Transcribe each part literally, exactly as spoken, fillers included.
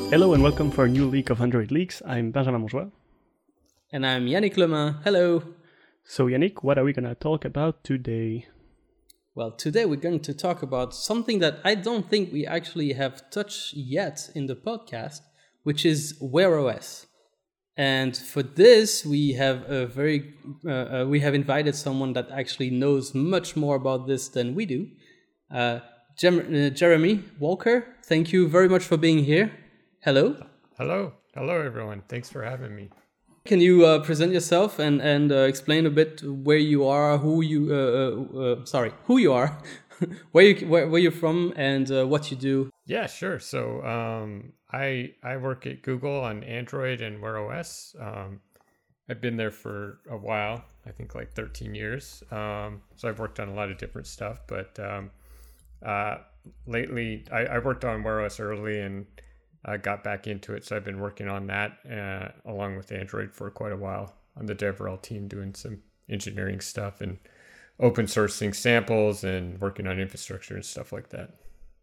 Hello and welcome for a new leak of Android Leaks. I'm Benjamin Monjoie. And I'm Yannick Lemain. Hello. So Yannick, what are we going to talk about today? Well, today we're going to talk about something that I don't think we actually have touched yet in the podcast, which is Wear O S. And for this, we have a very uh, uh, we have invited someone that actually knows much more about this than we do. Uh, Jem- uh, Jeremy Walker, thank you very much for being here. Hello. Hello. Hello, everyone. Thanks for having me. Can you uh, present yourself and and uh, explain a bit where you are, who you uh, uh, uh, sorry, who you are, where you where, where you're from, and uh, what you do? Yeah, sure. So um, I I work at Google on Android and Wear O S. Um, I've been there for a while. I think like thirteen years. Um, so I've worked on a lot of different stuff. But um, uh, lately, I, I worked on Wear O S early and I got back into it. So I've been working on that uh, along with Android for quite a while on the DevRel team, doing some engineering stuff and open sourcing samples and working on infrastructure and stuff like that.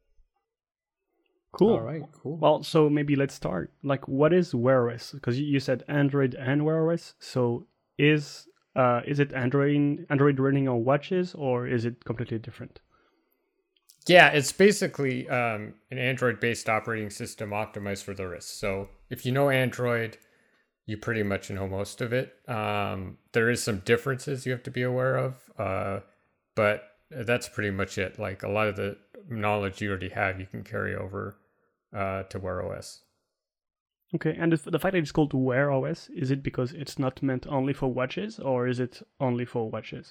Cool. All right, cool. Well, so maybe let's start. Like, what is Wear O S? Because you said Android and Wear O S. So is uh, is it Android Android running on watches or is it completely different? Yeah, it's basically um, an Android-based operating system optimized for the wrist. So if you know Android, you pretty much know most of it. Um, there is some differences you have to be aware of, uh, but that's pretty much it. Like a lot of the knowledge you already have, you can carry over uh, to Wear O S. Okay, and the, the fact that it's called Wear O S, is it because it's not meant only for watches or is it only for watches?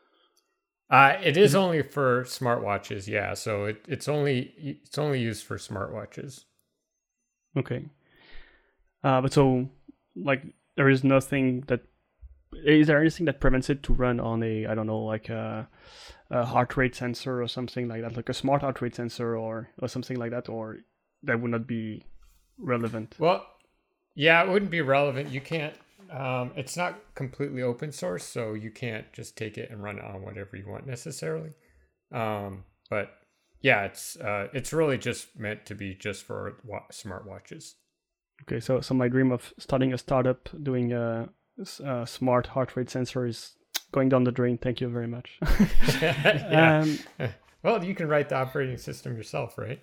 Uh, it is only for smartwatches, yeah. So it, it's only it's only used for smartwatches. Okay. Uh, but so, like, there is nothing that... Is there anything that prevents it to run on a, I don't know, like a, a heart rate sensor or something like that, like a smart heart rate sensor or, or something like that, or that would not be relevant? Well, yeah, it wouldn't be relevant. You can't... Um, it's not completely open source, so you can't just take it and run it on whatever you want necessarily. Um, but yeah, it's uh, it's really just meant to be just for wa- smartwatches. Okay, so so my dream of starting a startup doing a, a smart heart rate sensor is going down the drain. Thank you very much. yeah. um, well, you can write the operating system yourself, right?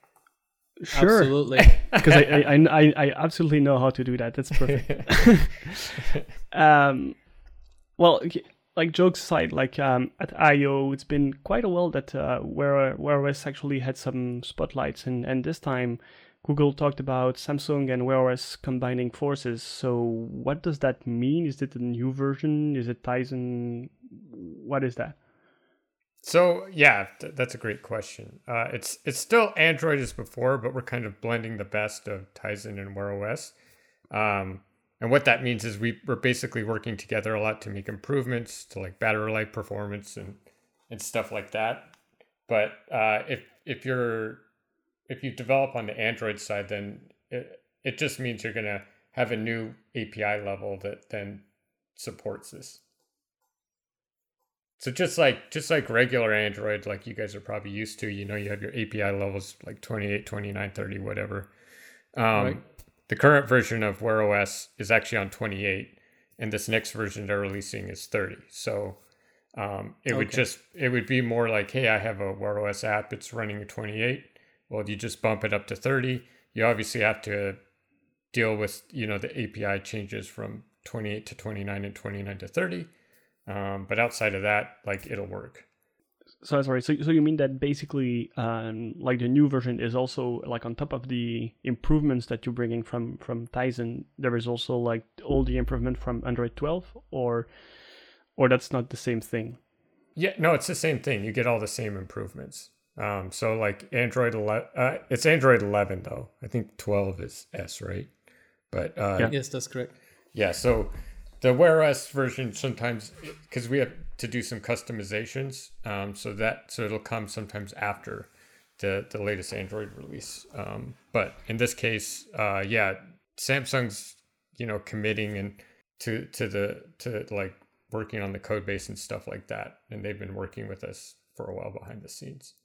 Sure. Absolutely. Because I, I, I, I absolutely know how to do that. That's perfect. um, well, like jokes aside, like um, at I O, it's been quite a while that uh, Wear Wear O S actually had some spotlights, and, and this time Google talked about Samsung and Wear O S combining forces. So what does that mean? Is it a new version? Is it Tizen? What is that? So yeah, th- that's a great question. Uh, it's it's still Android as before, but we're kind of blending the best of Tizen and Wear O S. Um, and what that means is we we're basically working together a lot to make improvements to like battery life performance and and stuff like that. But uh, if if you're if you develop on the Android side, then it it just means you're gonna have a new A P I level that then supports this. So just like just like regular Android, like you guys are probably used to, you know, you have your A P I levels like twenty-eight, twenty-nine, thirty, whatever. Um, Right. The current version of Wear O S is actually on twenty-eight, and this next version they're releasing is thirty. So um, it would Okay. just it would be more like, hey, I have a Wear O S app, it's running at twenty-eight. Well, you just bump it up to thirty. You obviously have to deal with, you know, the A P I changes from twenty-eight to twenty-nine and twenty-nine to thirty. Um, but outside of that, like it'll work. So sorry. So so you mean that basically, um, like the new version is also like on top of the improvements that you're bringing from from Tizen, there is also like all the improvement from Android twelve, or or that's not the same thing. Yeah, no, it's the same thing. You get all the same improvements. Um, so like Android eleven, uh, it's Android eleven though. I think twelve is S, right? But uh, Yeah. Yes, that's correct. yeah, so the Wear O S version sometimes, because we have to do some customizations, um, so that so it'll come sometimes after the the latest Android release. Um, but in this case, uh, yeah, Samsung's you know committing and to to the to like working on the code base and stuff like that, and they've been working with us for a while behind the scenes.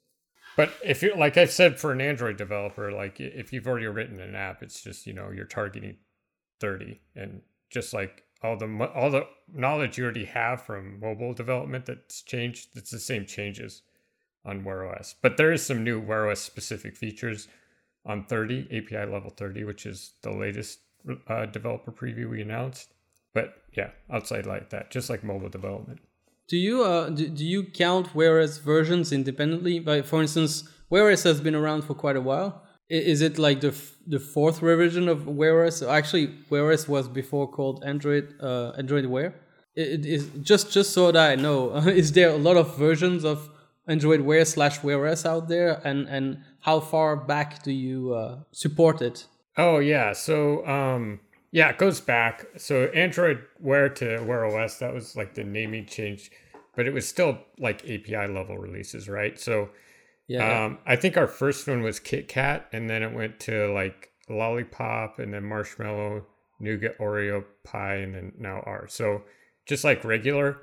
But if you're like I said, for an Android developer, like if you've already written an app, it's just, you know, you're targeting thirty, and just like all the all the knowledge you already have from mobile development that's changed, it's the same changes on Wear O S. But there is some new Wear O S specific features on thirty, A P I level thirty, which is the latest uh, developer preview we announced. But yeah, outside like that, just like mobile development. Do you uh do, do you count Wear O S versions independently? Like, for instance, Wear O S has been around for quite a while. I- Is it like the f- the fourth revision of Wear O S? Actually, Wear O S was before called Android uh, Android Wear. It, it is just just so that I know. Is there a lot of versions of Android Wear slash Wear O S out there, and and how far back do you uh, support it? Oh yeah, so um yeah, it goes back. So Android Wear to Wear O S, that was like the naming change, but it was still like A P I level releases, right? So Yeah, um I think our first one was KitKat, and then it went to like Lollipop, and then Marshmallow, Nougat, Oreo, Pie, and then now R. So just like regular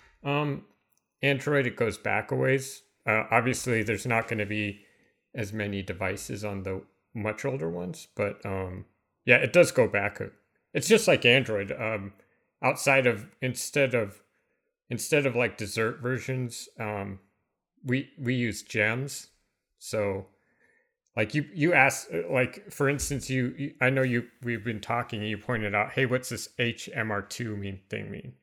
um Android, it goes back a ways. Uh, obviously, there's not going to be as many devices on the much older ones, but um, yeah, it does go back. It's just like Android. Um, outside of instead of instead of like dessert versions, um, we we use gems. So, like you you asked, like for instance, you, you I know you we've been talking. And you pointed out, hey, what's this H M R two mean thing mean?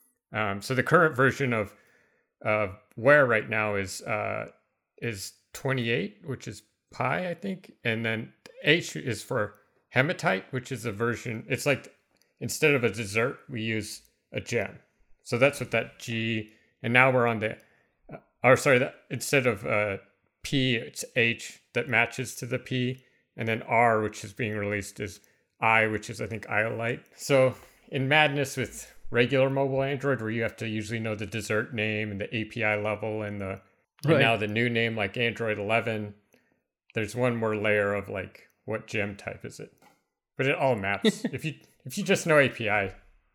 Um, so the current version of uh, Wear right now is uh, is twenty-eight, which is Pi, I think, and then H is for hematite, which is a version. It's like instead of a dessert, we use a gem. So that's what that G. And now we're on the, uh, or sorry, that instead of uh, P, it's H that matches to the P, and then R, which is being released, is I, which is I think Iolite. So in madness with regular mobile Android, where you have to usually know the dessert name and the A P I level and the and Right. now the new name like Android eleven, there's one more layer of like what gem type is it, but it all maps. if you if you just know A P I.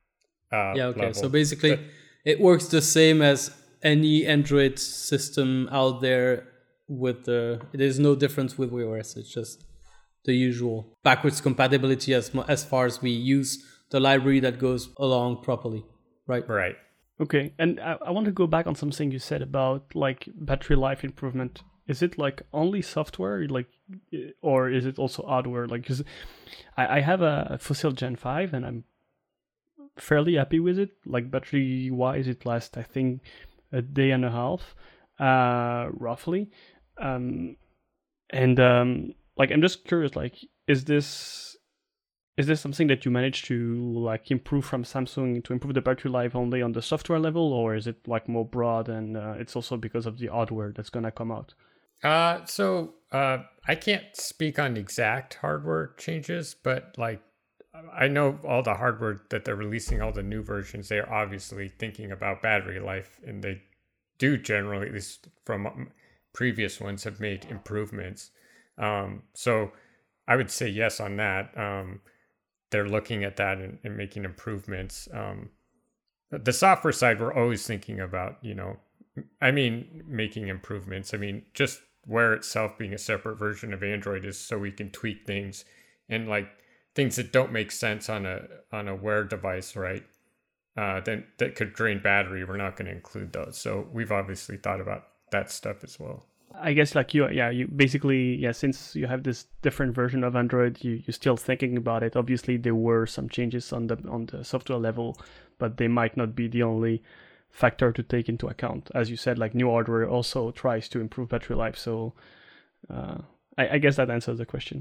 Uh, yeah. Okay. level. So basically, But- it works the same as any Android system out there. With the there's no difference with Wear O S. It's just the usual backwards compatibility as mu- as far as we use the library that goes along properly, right? Right. Okay, and I, I want to go back on something you said about like battery life improvement. Is it like only software, like, i- or is it also hardware? Like, 'cause I, I have a Fossil Gen five and I'm fairly happy with it. Like battery wise, it lasts I think a day and a half, uh, roughly. Um, and um, like I'm just curious, like, is this is this something that you managed to like improve from Samsung to improve the battery life only on the software level, or is it like more broad and uh, it's also because of the hardware that's gonna come out? Uh, so uh, I can't speak on exact hardware changes, but like I know all the hardware that they're releasing, all the new versions, they're obviously thinking about battery life, and they do generally, at least from um, previous ones, have made improvements. Um, so I would say yes on that. Um, they're looking at that and, and making improvements. Um, the software side, we're always thinking about, you know, I mean, making improvements. I mean, just Wear itself being a separate version of Android is so we can tweak things, and like things that don't make sense on a on a Wear device, right? Uh, then that could drain battery. We're not going to include those. So we've obviously thought about that stuff as well. I guess like you, yeah, you basically, yeah, since you have this different version of Android, you you're still thinking about it. Obviously, there were some changes on the on the software level, but they might not be the only factor to take into account. As you said, like new hardware also tries to improve battery life. So uh, I, I guess that answers the question.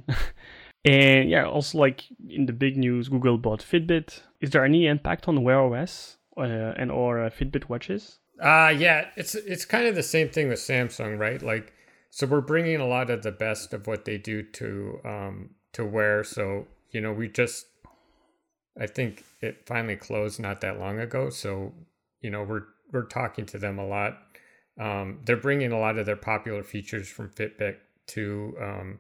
And yeah, also like in the big news, Google bought Fitbit. Is there any impact on Wear O S uh, and or uh, Fitbit watches? Uh yeah, it's it's kind of the same thing with Samsung, right? Like, so we're bringing a lot of the best of what they do to um to Wear. So you know, we just, I think it finally closed not that long ago. So you know, we're we're talking to them a lot. Um, they're bringing a lot of their popular features from Fitbit to um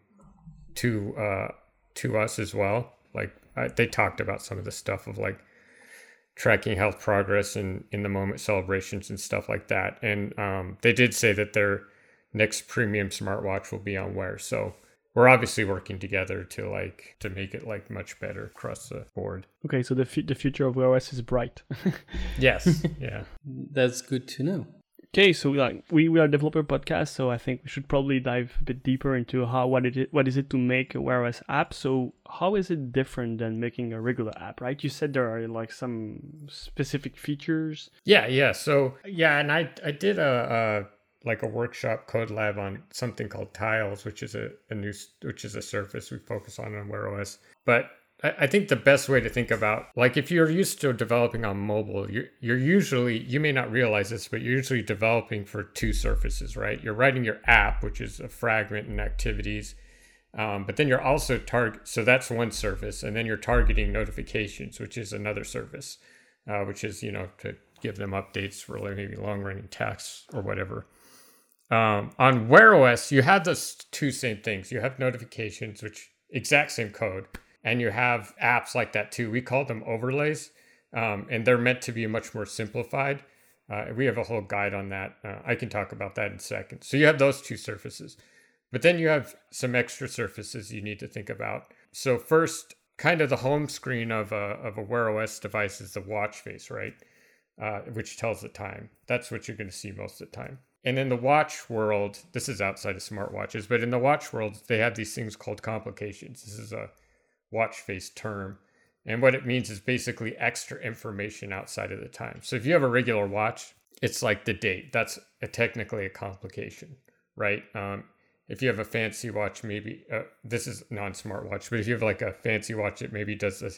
to uh to us as well. Like I, they talked about some of the stuff of like tracking health progress and in the moment celebrations and stuff like that. And um, they did say that they're next premium smartwatch will be on Wear. So we're obviously working together to like to make it like much better across the board. Okay, so the f- the future of Wear O S is bright. Yes, yeah. That's good to know. Okay, so like we, we are a developer podcast, so I think we should probably dive a bit deeper into how what it is, what is it to make a Wear O S app. So how is it different than making a regular app, right? You said there are like some specific features. Yeah, yeah. So yeah, and I I did a, a like a workshop code lab on something called Tiles, which is a, a new which is a surface we focus on on Wear O S. But I, I think the best way to think about, like if you're used to developing on mobile, you're you're usually, you may not realize this, but you're usually developing for two surfaces, right? You're writing your app, which is a fragment and activities. Um, but then you're also target, so that's one surface, and then you're targeting notifications, which is another surface, uh, which is, you know, to give them updates for like maybe long running tasks or whatever. Um, on Wear O S, you have those two same things. You have notifications, which exact same code, and you have apps like that too. We call them overlays, um, and they're meant to be much more simplified. Uh, we have a whole guide on that. Uh, I can talk about that in a second. So you have those two surfaces, but then you have some extra surfaces you need to think about. So first, kind of the home screen of a of a Wear O S device is the watch face, right? Uh, which tells the time. That's what you're going to see most of the time. And in the watch world, this is outside of smartwatches, but in the watch world, they have these things called complications. This is a watch face term. And what it means is basically extra information outside of the time. So if you have a regular watch, it's like the date. That's a, technically a complication, right? Um, if you have a fancy watch, maybe, uh, this is non-smartwatch, but if you have like a fancy watch that maybe does a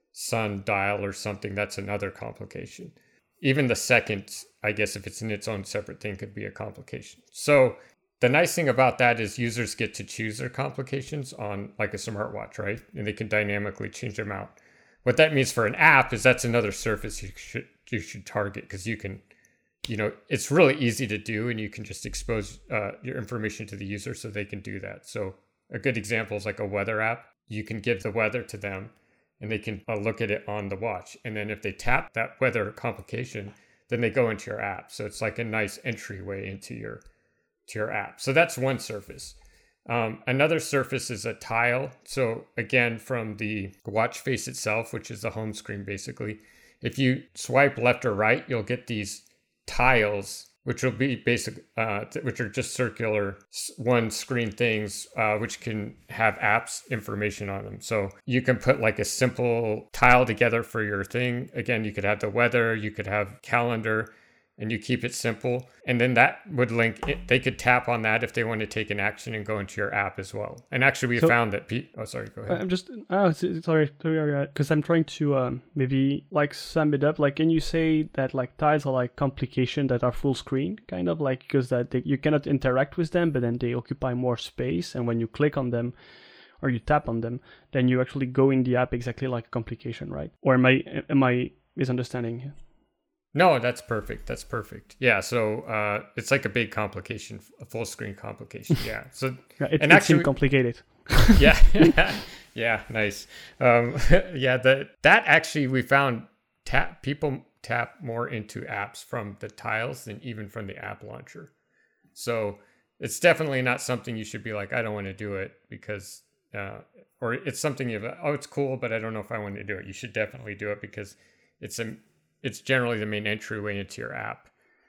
sun dial or something, that's another complication. Even the second, I guess, if it's in its own separate thing, could be a complication. So the nice thing about that is users get to choose their complications on like a smartwatch, right? And they can dynamically change them out. What that means for an app is that's another surface you should you should target, because you can, you know, it's really easy to do, and you can just expose uh, your information to the user so they can do that. So a good example is like a weather app. You can give the weather to them, and they can uh, look at it on the watch. And then if they tap that weather complication, then they go into your app. So it's like a nice entryway into your to your app. So that's one surface. Um, another surface is a tile. So again, from the watch face itself, which is the home screen basically, if you swipe left or right, you'll get these tiles, which will be basic, uh, which are just circular one screen things, uh, which can have apps information on them. So you can put like a simple tile together for your thing. Again, you could have the weather, you could have calendar, and you keep it simple. And then that would link it. They could tap on that if they want to take an action and go into your app as well. And actually, we so, found that. Pe- oh, sorry, go ahead. I'm just, oh, sorry, sorry, because I'm trying to um, maybe like sum it up. Like, can you say that like tiles are like complications that are full screen, kind of like, because that they, you cannot interact with them, but then they occupy more space. And when you click on them or you tap on them, then you actually go in the app exactly like a complication, right? Or am I am I misunderstanding here? No, that's perfect. That's perfect. Yeah. So uh, it's like a big complication, a full screen complication. Yeah. So yeah, it, and it actually, seemed complicated. yeah. Yeah. Nice. Um, yeah. The, that actually we found tap people tap more into apps from the tiles than even from the app launcher. So it's definitely not something you should be like, I don't want to do it because, uh, or it's something you've, oh, it's cool, but I don't know if I want to do it. You should definitely do it because it's a, it's generally the main entryway into your app.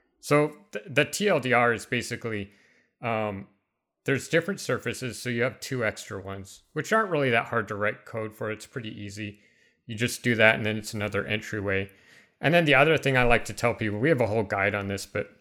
So th- the T L D R is basically, um, there's different surfaces. So you have two extra ones, which aren't really that hard to write code for. It's pretty easy. You just do that, and then it's another entryway. And then the other thing I like to tell people, we have a whole guide on this, but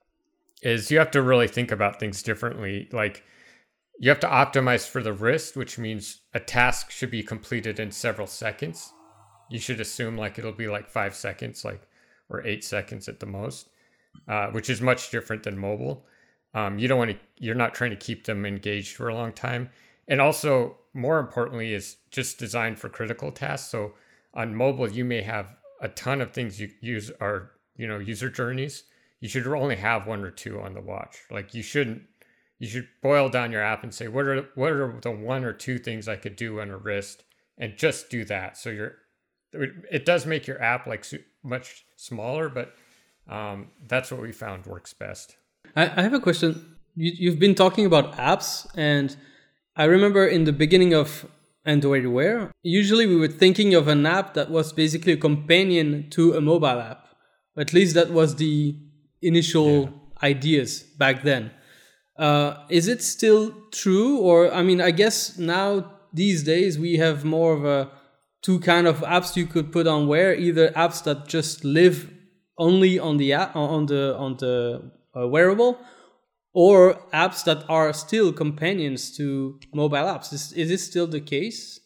is you have to really think about things differently. Like you have to optimize for the wrist, which means a task should be completed in several seconds. You should assume like it'll be like five seconds, like or eight seconds at the most, uh, which is much different than mobile. Um, you don't want to, you're not trying to keep them engaged for a long time. And also, more importantly, is just designed for critical tasks. So on mobile, you may have a ton of things you use are, you know, user journeys. You should only have one or two on the watch. Like you shouldn't, you should boil down your app and say, what are what are the one or two things I could do on a wrist, and just do that. So you're, it does make your app like much smaller, but um, that's what we found works best. I, I have a question. you, you've been talking about apps, and I remember in the beginning of Android Wear, usually we were thinking of an app that was basically a companion to a mobile app. At least that was the initial yeah. ideas back then. Uh, is it still true? Or, I mean, I guess now these days we have more of a two kind of apps you could put on Wear, either apps that just live only on the app, on the on the uh, wearable, or apps that are still companions to mobile apps. Is is this still the case?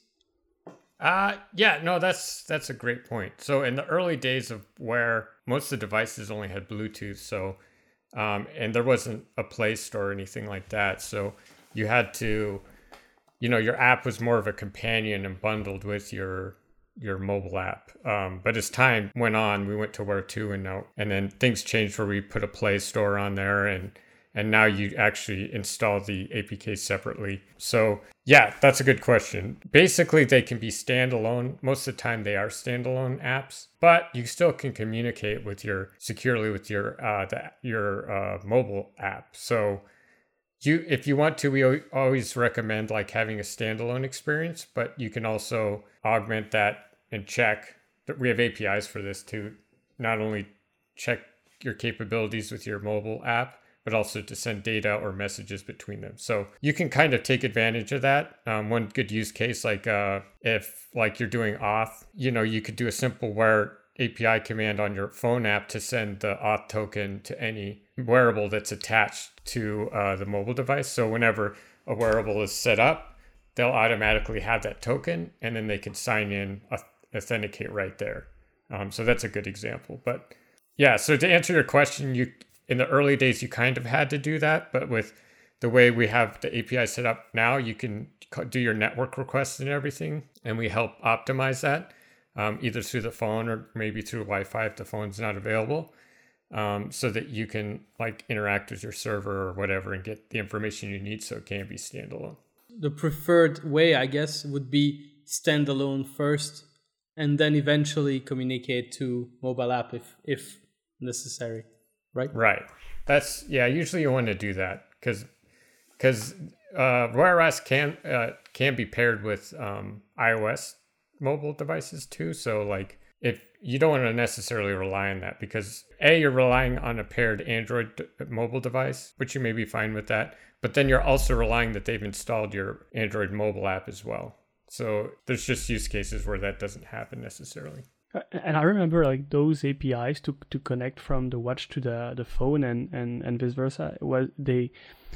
Uh yeah, no, that's that's a great point. So in the early days of Wear, most of the devices only had Bluetooth, so um, and there wasn't a Play Store or anything like that. So you had to, you know, your app was more of a companion and bundled with your your mobile app. Um, but as time went on, we went to Wear two, and now and then things changed where we put a Play Store on there, and and now you actually install the A P K separately. So yeah, that's a good question. Basically, they can be standalone. Most of the time, they are standalone apps, but you still can communicate with your securely with your uh, the, your uh, mobile app. So you, if you want to, we always recommend like having a standalone experience, but you can also augment that and check. We have A P Is for this to not only check your capabilities with your mobile app, but also to send data or messages between them. So you can kind of take advantage of that. Um, one good use case, like uh, if like you're doing auth, you know, you could do a simple Wear A P I command on your phone app to send the auth token to any wearable that's attached to uh, the mobile device. So whenever a wearable is set up, they'll automatically have that token, and then they can sign in, authenticate right there. Um, so that's a good example. But yeah, so to answer your question, you in the early days, you kind of had to do that, but with the way we have the A P I set up now, you can do your network requests and everything, and we help optimize that, um, either through the phone or maybe through Wi-Fi if the phone's not available, um, so that you can like interact with your server or whatever and get the information you need so it can be standalone. The preferred way, I guess, would be standalone first, and then eventually communicate to mobile app if if necessary. Right. Right. That's yeah. Usually you want to do that because because uh, Wear O S can uh, can be paired with um, iOS mobile devices too. So like if you don't want to necessarily rely on that, because A, you're relying on a paired Android d- mobile device, which you may be fine with that. But then you're also relying that they've installed your Android mobile app as well. So there's just use cases where that doesn't happen necessarily. And I remember like those A P Is to to connect from the watch to the, the phone and, and, and vice versa. Was they?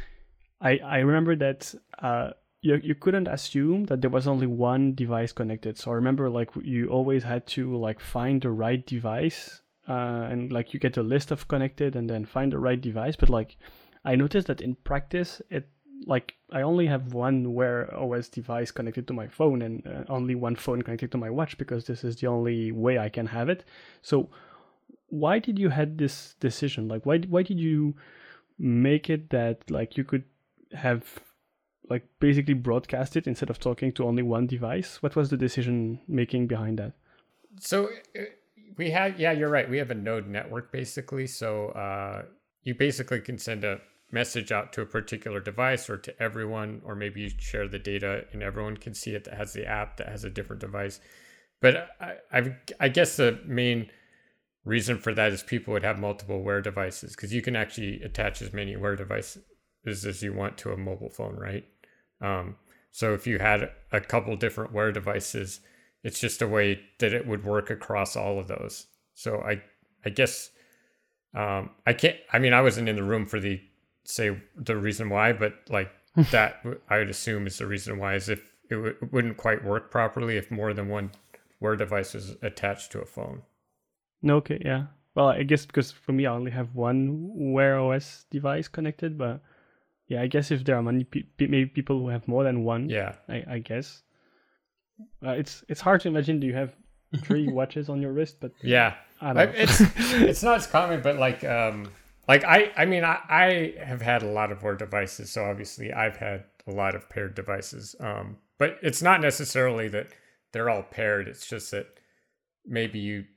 I I remember that uh you you couldn't assume that there was only one device connected. So I remember like you always had to like find the right device, uh, and like you get a list of connected and then find the right device. But like I noticed that in practice it. Like I only have one Wear O S device connected to my phone and uh, only one phone connected to my watch because this is the only way I can have it. So why did you had this decision? Like why why did you make it that like you could have like basically broadcast it instead of talking to only one device? What was the decision making behind that? So we have yeah, you're right. We have a node network basically. So uh, you basically can send a message out to a particular device or to everyone, or maybe you share the data and everyone can see it that has the app that has a different device. But I, I, I guess the main reason for that is people would have multiple Wear devices, because you can actually attach as many Wear devices as you want to a mobile phone, right? Um, so if you had a couple different Wear devices, it's just a way that it would work across all of those. So I, I guess um, I can't. I mean, I wasn't in the room for the say the reason why, but like that I would assume is the reason why, is if it, w- it wouldn't quite work properly if more than one Wear device was attached to a phone. Okay, yeah. Well, I guess because for me I only have one Wear O S device connected, but yeah, I guess if there are many pe- maybe people who have more than one, yeah, I, I guess uh, it's it's hard to imagine. Do you have three watches on your wrist? But yeah, I don't know. it's it's not as common, but like um. Like, I, I mean, I, I have had a lot of Wear devices, so obviously I've had a lot of paired devices. Um, but it's not necessarily that they're all paired. It's just that maybe you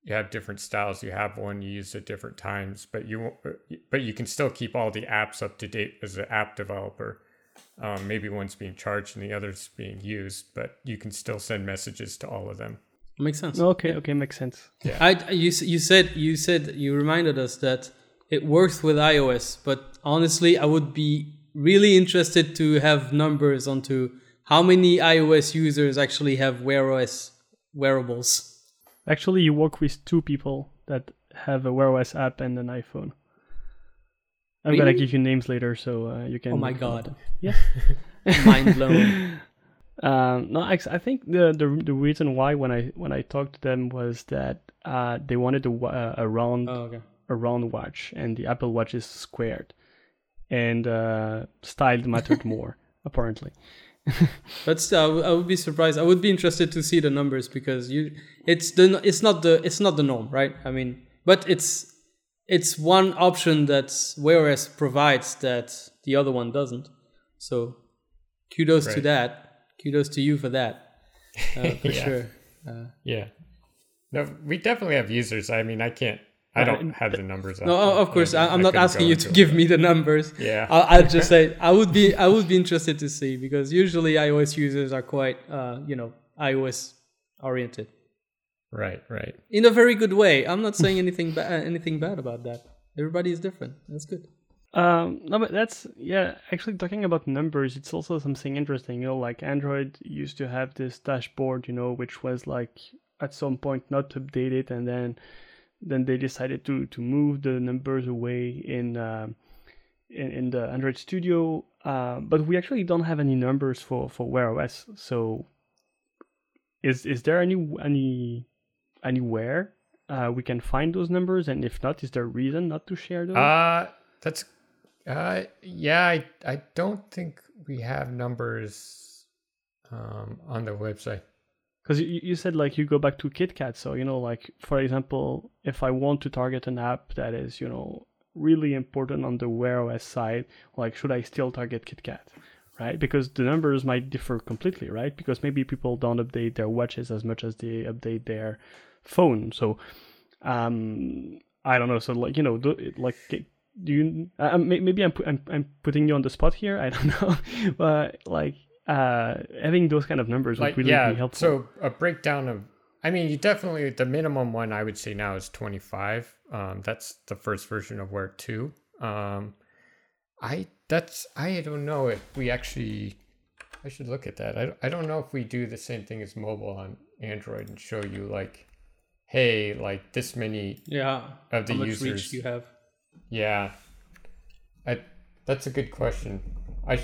you have different styles. You have one you use at different times, but you won't, but you can still keep all the apps up to date as an app developer. Um, maybe one's being charged and the other's being used, but you can still send messages to all of them. Makes sense. Okay, okay, makes sense. Yeah. I you you said you said you reminded us that it works with iOS, but honestly, I would be really interested to have numbers onto how many iOS users actually have Wear O S wearables. Actually, you work with two people that have a Wear O S app and an iPhone. I'm Really? gonna give you names later, so uh, you can. Oh my god! Yeah. Mind blown. Um, no, I, I think the, the the reason why when I when I talked to them was that uh, they wanted a, uh, a round Oh, okay. a round watch, and the Apple Watch is squared, and uh, style mattered more apparently. But still, I, w- I would be surprised. I would be interested to see the numbers because you, it's the it's not the it's not the norm, right? I mean, but it's it's one option that Wear O S provides that the other one doesn't. So, kudos to Right. that. Kudos to you for that, uh, for Yeah. sure. Uh, Yeah. No, we definitely have users. I mean, I can't, I don't have the numbers. no, off of the- course, I I, I'm I not couldn't asking go you into to it. give me the numbers. Yeah. I'll, I'll just say I would be I would be interested to see because usually iOS users are quite uh, you know iOS oriented Right, right. in a very good way. I'm not saying anything ba- anything bad about that. Everybody is different. That's good. Um, no, but that's, yeah, actually talking about numbers, it's also something interesting, you know, like Android used to have this dashboard, you know, which was like at some point not updated, and then then they decided to to move the numbers away in um in, in the Android Studio, uh, but we actually don't have any numbers for for Wear O S. So is is there any any anywhere uh, we can find those numbers, and if not, is there a reason not to share those? Uh, that's, uh, yeah, I, I don't think we have numbers um, on the website. Because you, you said like you go back to KitKat, so you know, like for example, if I want to target an app that is, you know, really important on the Wear O S side, like should I still target KitKat, right? Because the numbers might differ completely, right? Because maybe people don't update their watches as much as they update their phone. So um, I don't know. So like you know, do, like do you? Uh, maybe I'm, pu- I'm I'm putting you on the spot here. I don't know, but like. Uh, having those kind of numbers Like, would really yeah, be helpful. so a breakdown of, I mean, you definitely, the minimum one I would say now is twenty-five. Um, that's the first version of Wear two. Um, I, that's, I don't know if we actually, I should look at that. I, I don't know if we do the same thing as mobile on Android and show you like, hey, like this many Yeah. of the How much users. reach you have? Yeah. I, that's a good question. I,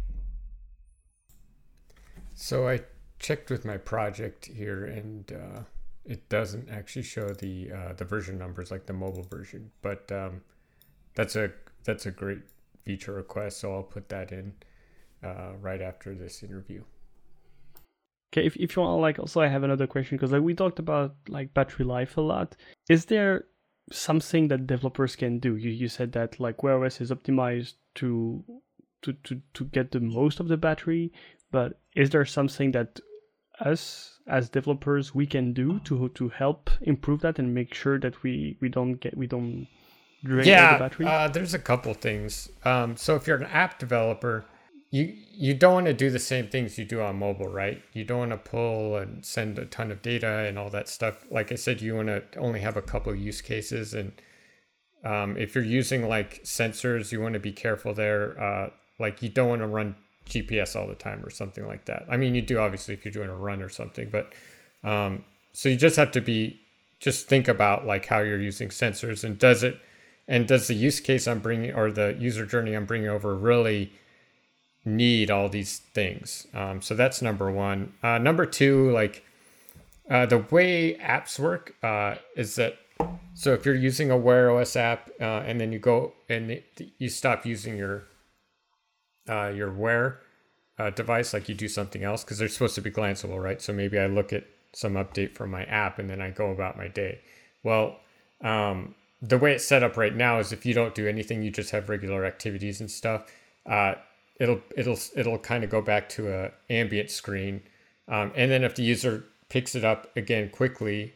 So I checked with my project here, and uh, it doesn't actually show the uh, the version numbers like the mobile version. But um, that's a that's a great feature request, so I'll put that in uh, right after this interview. Okay, if if you want, like, also I have another question because like we talked about like battery life a lot. Is there something that developers can do? You you said that like Wear O S is optimized to to to to get the most of the battery. But is there something that us as developers we can do to to help improve that and make sure that we, we don't get we don't drain all Yeah, the battery? uh, there's a couple things. Um, so if you're an app developer, you you don't want to do the same things you do on mobile, right? You don't want to pull and send a ton of data and all that stuff. Like I said, you want to only have a couple use cases, and um, if you're using like sensors, you want to be careful there. Uh, like you don't want to run G P S all the time or something like that. I mean, you do obviously if you're doing a run or something, but um, so you just have to be, just think about like how you're using sensors, and does it, and does the use case I'm bringing or the user journey I'm bringing over really need all these things? Um, so that's number one. Uh, number two, like uh, the way apps work uh, is that, so if you're using a Wear O S app uh, and then you go and it, you stop using your Uh, your Wear uh, device, like you do something else, because they're supposed to be glanceable, right? So maybe I look at some update from my app and then I go about my day. Well, um, the way it's set up right now is if you don't do anything, you just have regular activities and stuff. Uh, it'll it'll it'll kind of go back to a ambient screen, um, and then if the user picks it up again quickly,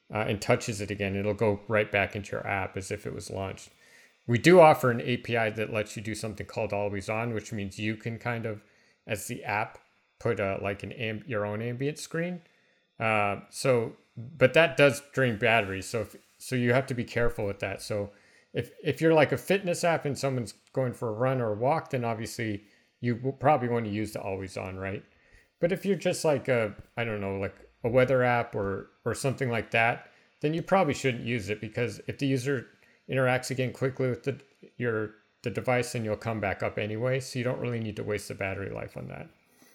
uh, and touches it again, it'll go right back into your app as if it was launched. We do offer an A P I that lets you do something called always on, which means you can kind of, as the app, put a, like an amb- your own ambient screen. Uh, so, but that does drain battery. So, if, so you have to be careful with that. So, if if you're like a fitness app and someone's going for a run or a walk, then obviously you will probably want to use the always on, right? But if you're just like a, I don't know, like a weather app or or something like that, then you probably shouldn't use it, because if the user interacts again quickly with the your the device, then you'll come back up anyway. So you don't really need to waste the battery life on that.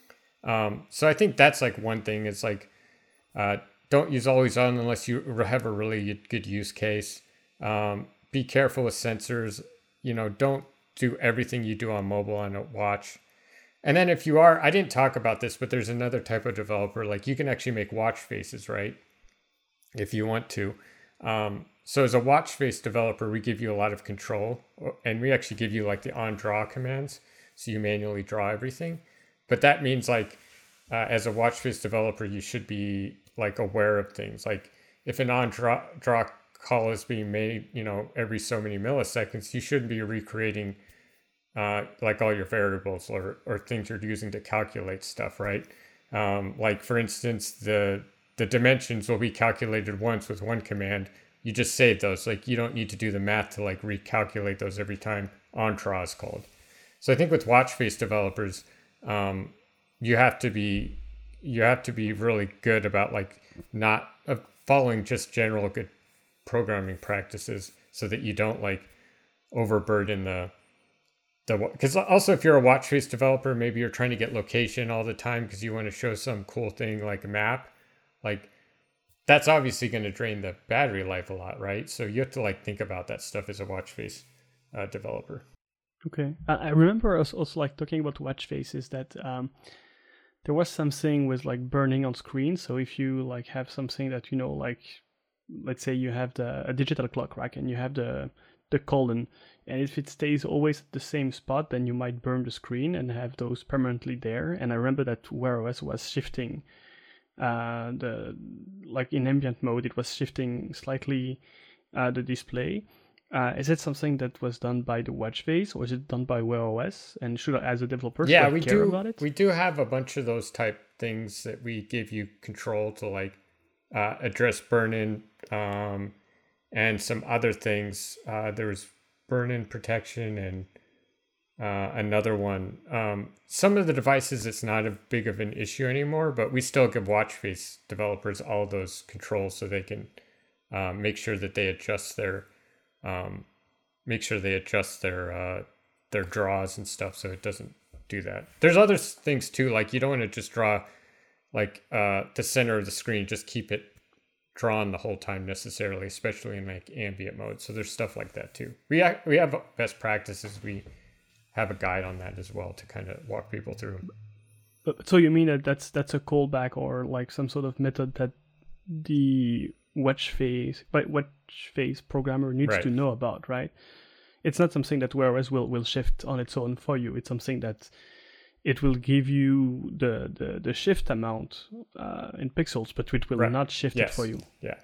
Um, so I think that's like one thing. It's like uh, don't use always on unless you have a really good use case. Um, be careful with sensors. You know, don't do everything you do on mobile on a watch. And then if you are, I didn't talk about this, but there's another type of developer, like you can actually make watch faces, right? If you want to. Um, so as a watch face developer, we give you a lot of control, and we actually give you like the on draw commands. So you manually draw everything. But that means like, uh, as a watch face developer, you should be like aware of things. Like if an on draw, draw call is being made, you know, every so many milliseconds, you shouldn't be recreating uh, like all your variables or, or things you're using to calculate stuff, right? Um, like for instance, the the dimensions will be calculated once with one command. You just save those. Like you don't need to do the math to like recalculate those every time on draw is called. So I think with watch face developers, um, you have to be you have to be really good about like not uh, following just general good programming practices, so that you don't like overburden the the because also if you're a watch face developer, maybe you're trying to get location all the time because you want to show some cool thing like a map, like that's obviously going to drain the battery life a lot, right? So you have to like think about that stuff as a watch face uh, developer. Okay, uh, I remember us also like talking about watch faces that um, there was something with like burning on screen. So if you like have something that you know, like let's say you have the a digital clock, right, and you have the the colon, and if it stays always at the same spot, then you might burn the screen and have those permanently there. And I remember that Wear O S was shifting uh, the like in ambient mode, it was shifting slightly uh, the display. Uh, is it something that was done by the watch face, or is it done by Wear O S? And should I, as a developer, yeah, should I we care do, about it? We do have a bunch of those type things that we give you control to like uh, address burn-in um, and some other things. Uh, there was burn-in protection and uh, another one. Um, some of the devices, it's not a big of an issue anymore, but we still give watch face developers all those controls so they can uh, make sure that they adjust their Um, make sure they adjust their uh, their draws and stuff so it doesn't do that. There's other things too, like you don't want to just draw like uh, the center of the screen, just keep it drawn the whole time necessarily, especially in like ambient mode. So there's stuff like that too. We ha- we have best practices. We have a guide on that as well to kind of walk people through. But, so you mean that that's that's a callback or like some sort of method that the watch face but watch face programmer needs Right. to know about, right? It's not something that Wear O S will will shift on its own for you. It's something that it will give you the the, the shift amount uh, in pixels, but it will Right. not shift Yes. it for you. Yeah.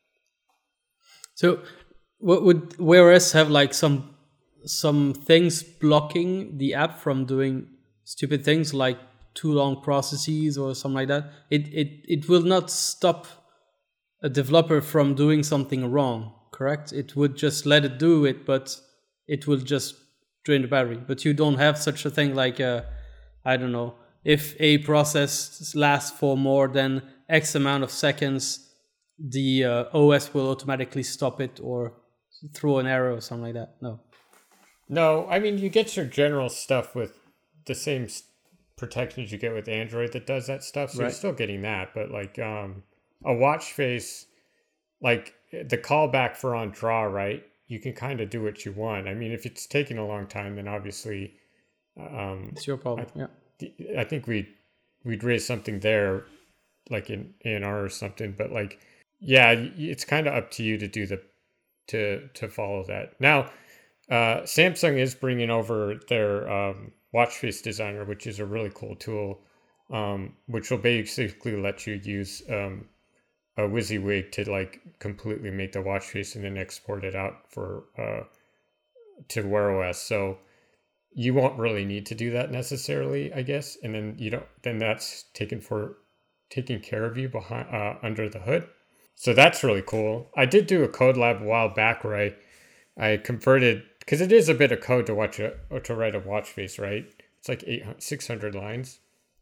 So, what would Wear O S have like some some things blocking the app from doing stupid things like too long processes or something like that? It it it will not stop a developer from doing something wrong, correct? It would just let it do it, but it will just drain the battery. But you don't have such a thing like, uh, I don't know, if a process lasts for more than X amount of seconds, the uh, O S will automatically stop it or throw an error or something like that. No. No, I mean, you get your general stuff with the same s- protections you get with Android that does that stuff. So Right. you're still getting that. But like um, a watch face, like the callback for on draw, right? You can kind of do what you want. I mean, if it's taking a long time, then obviously, um, It's your problem. I, yeah. I think we we'd raise something there, like in A N R or something. But like, yeah, it's kind of up to you to do the to to follow that. Now, uh, Samsung is bringing over their um, watch face designer, which is a really cool tool, um, which will basically let you use um, a WYSIWYG to like completely make the watch face and then export it out for uh, to Wear O S. So you won't really need to do that necessarily, I guess. And then you don't. Then that's taken for taking care of you behind uh, under the hood. So that's really cool. I did do a code lab a while back where I I converted, because it is a bit of code to watch a, or to write a watch face, right? It's like eight hundred, six hundred lines.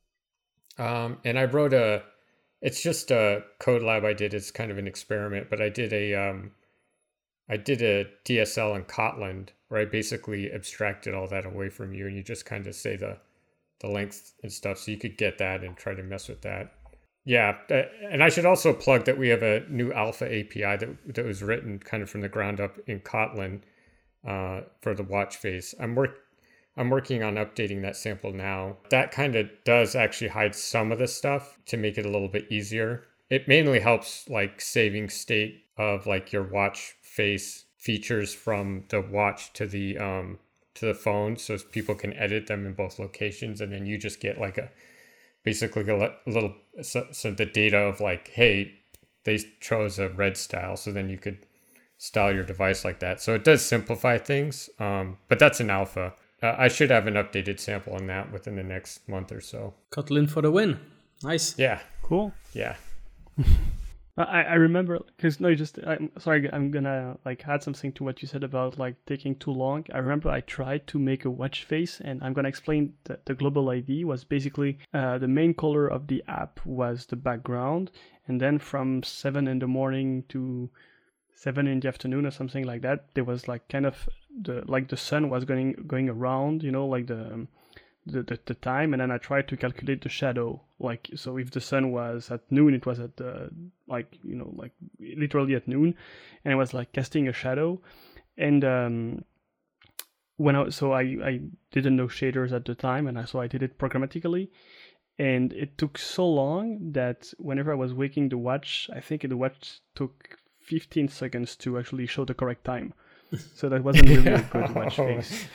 Um, and I wrote a, it's just a code lab I did. It's kind of an experiment, but I did a, um, I did a D S L in Kotlin where I basically abstracted all that away from you, and you just kind of say the, the length and stuff, so you could get that and try to mess with that. Yeah, and I should also plug that we have a new alpha A P I that that was written kind of from the ground up in Kotlin uh, for the watch face. I'm work I'm working on updating that sample now. That kind of does actually hide some of the stuff to make it a little bit easier. It mainly helps like saving state of like your watch face features from the watch to the um to the phone, so people can edit them in both locations, and then you just get like a basically a little so, so the data of like, hey, they chose a red style, so then you could style your device like that. So it does simplify things, um, but that's an alpha. Uh, I should have an updated sample on that within the next month or so. Kotlin for the win. Nice. Yeah. Cool. Yeah. I, I remember, because no, just, I'm sorry, I'm gonna like add something to what you said about like taking too long. I remember I tried to make a watch face, and I'm gonna explain that the global I D was basically uh, the main color of the app was the background, and then from seven in the morning to seven in the afternoon or something like that, there was like kind of the like the sun was going going around, you know, like the um, The, the the time, and then I tried to calculate the shadow. Like, so if the sun was at noon, it was at the like you know like literally at noon, and it was like casting a shadow. And um, when I so I I didn't know shaders at the time, and I so I did it programmatically, and it took so long that whenever I was waking the watch, I think the watch took fifteen seconds to actually show the correct time. So that wasn't really a good watch face.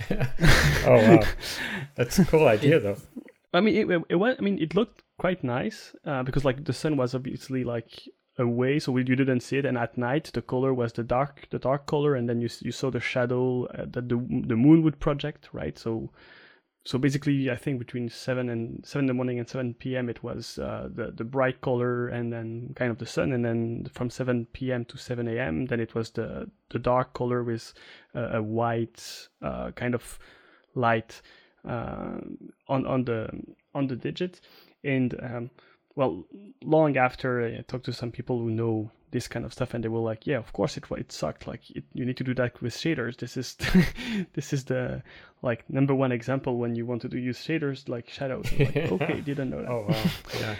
Oh wow, that's a cool idea though. I mean, it, it was. I mean, it looked quite nice uh, because like the sun was obviously like away, so we, you didn't see it. And at night, the color was the dark, the dark color, and then you you saw the shadow uh, that the the moon would project, right? So, so basically, I think between seven and seven in the morning and seven p.m. it was uh, the the bright color, and then kind of the sun, and then from seven p.m. to seven a.m. then it was the the dark color with uh, a white uh, kind of light uh, on on the on the digit. And um, well, long after I talked to some people who know this kind of stuff, and they were like, yeah, of course it it sucked, like it, you need to do that with shaders. This is this is the like number one example when you want to do use shaders like shadows. Like, okay, didn't know that. Oh wow. Yeah.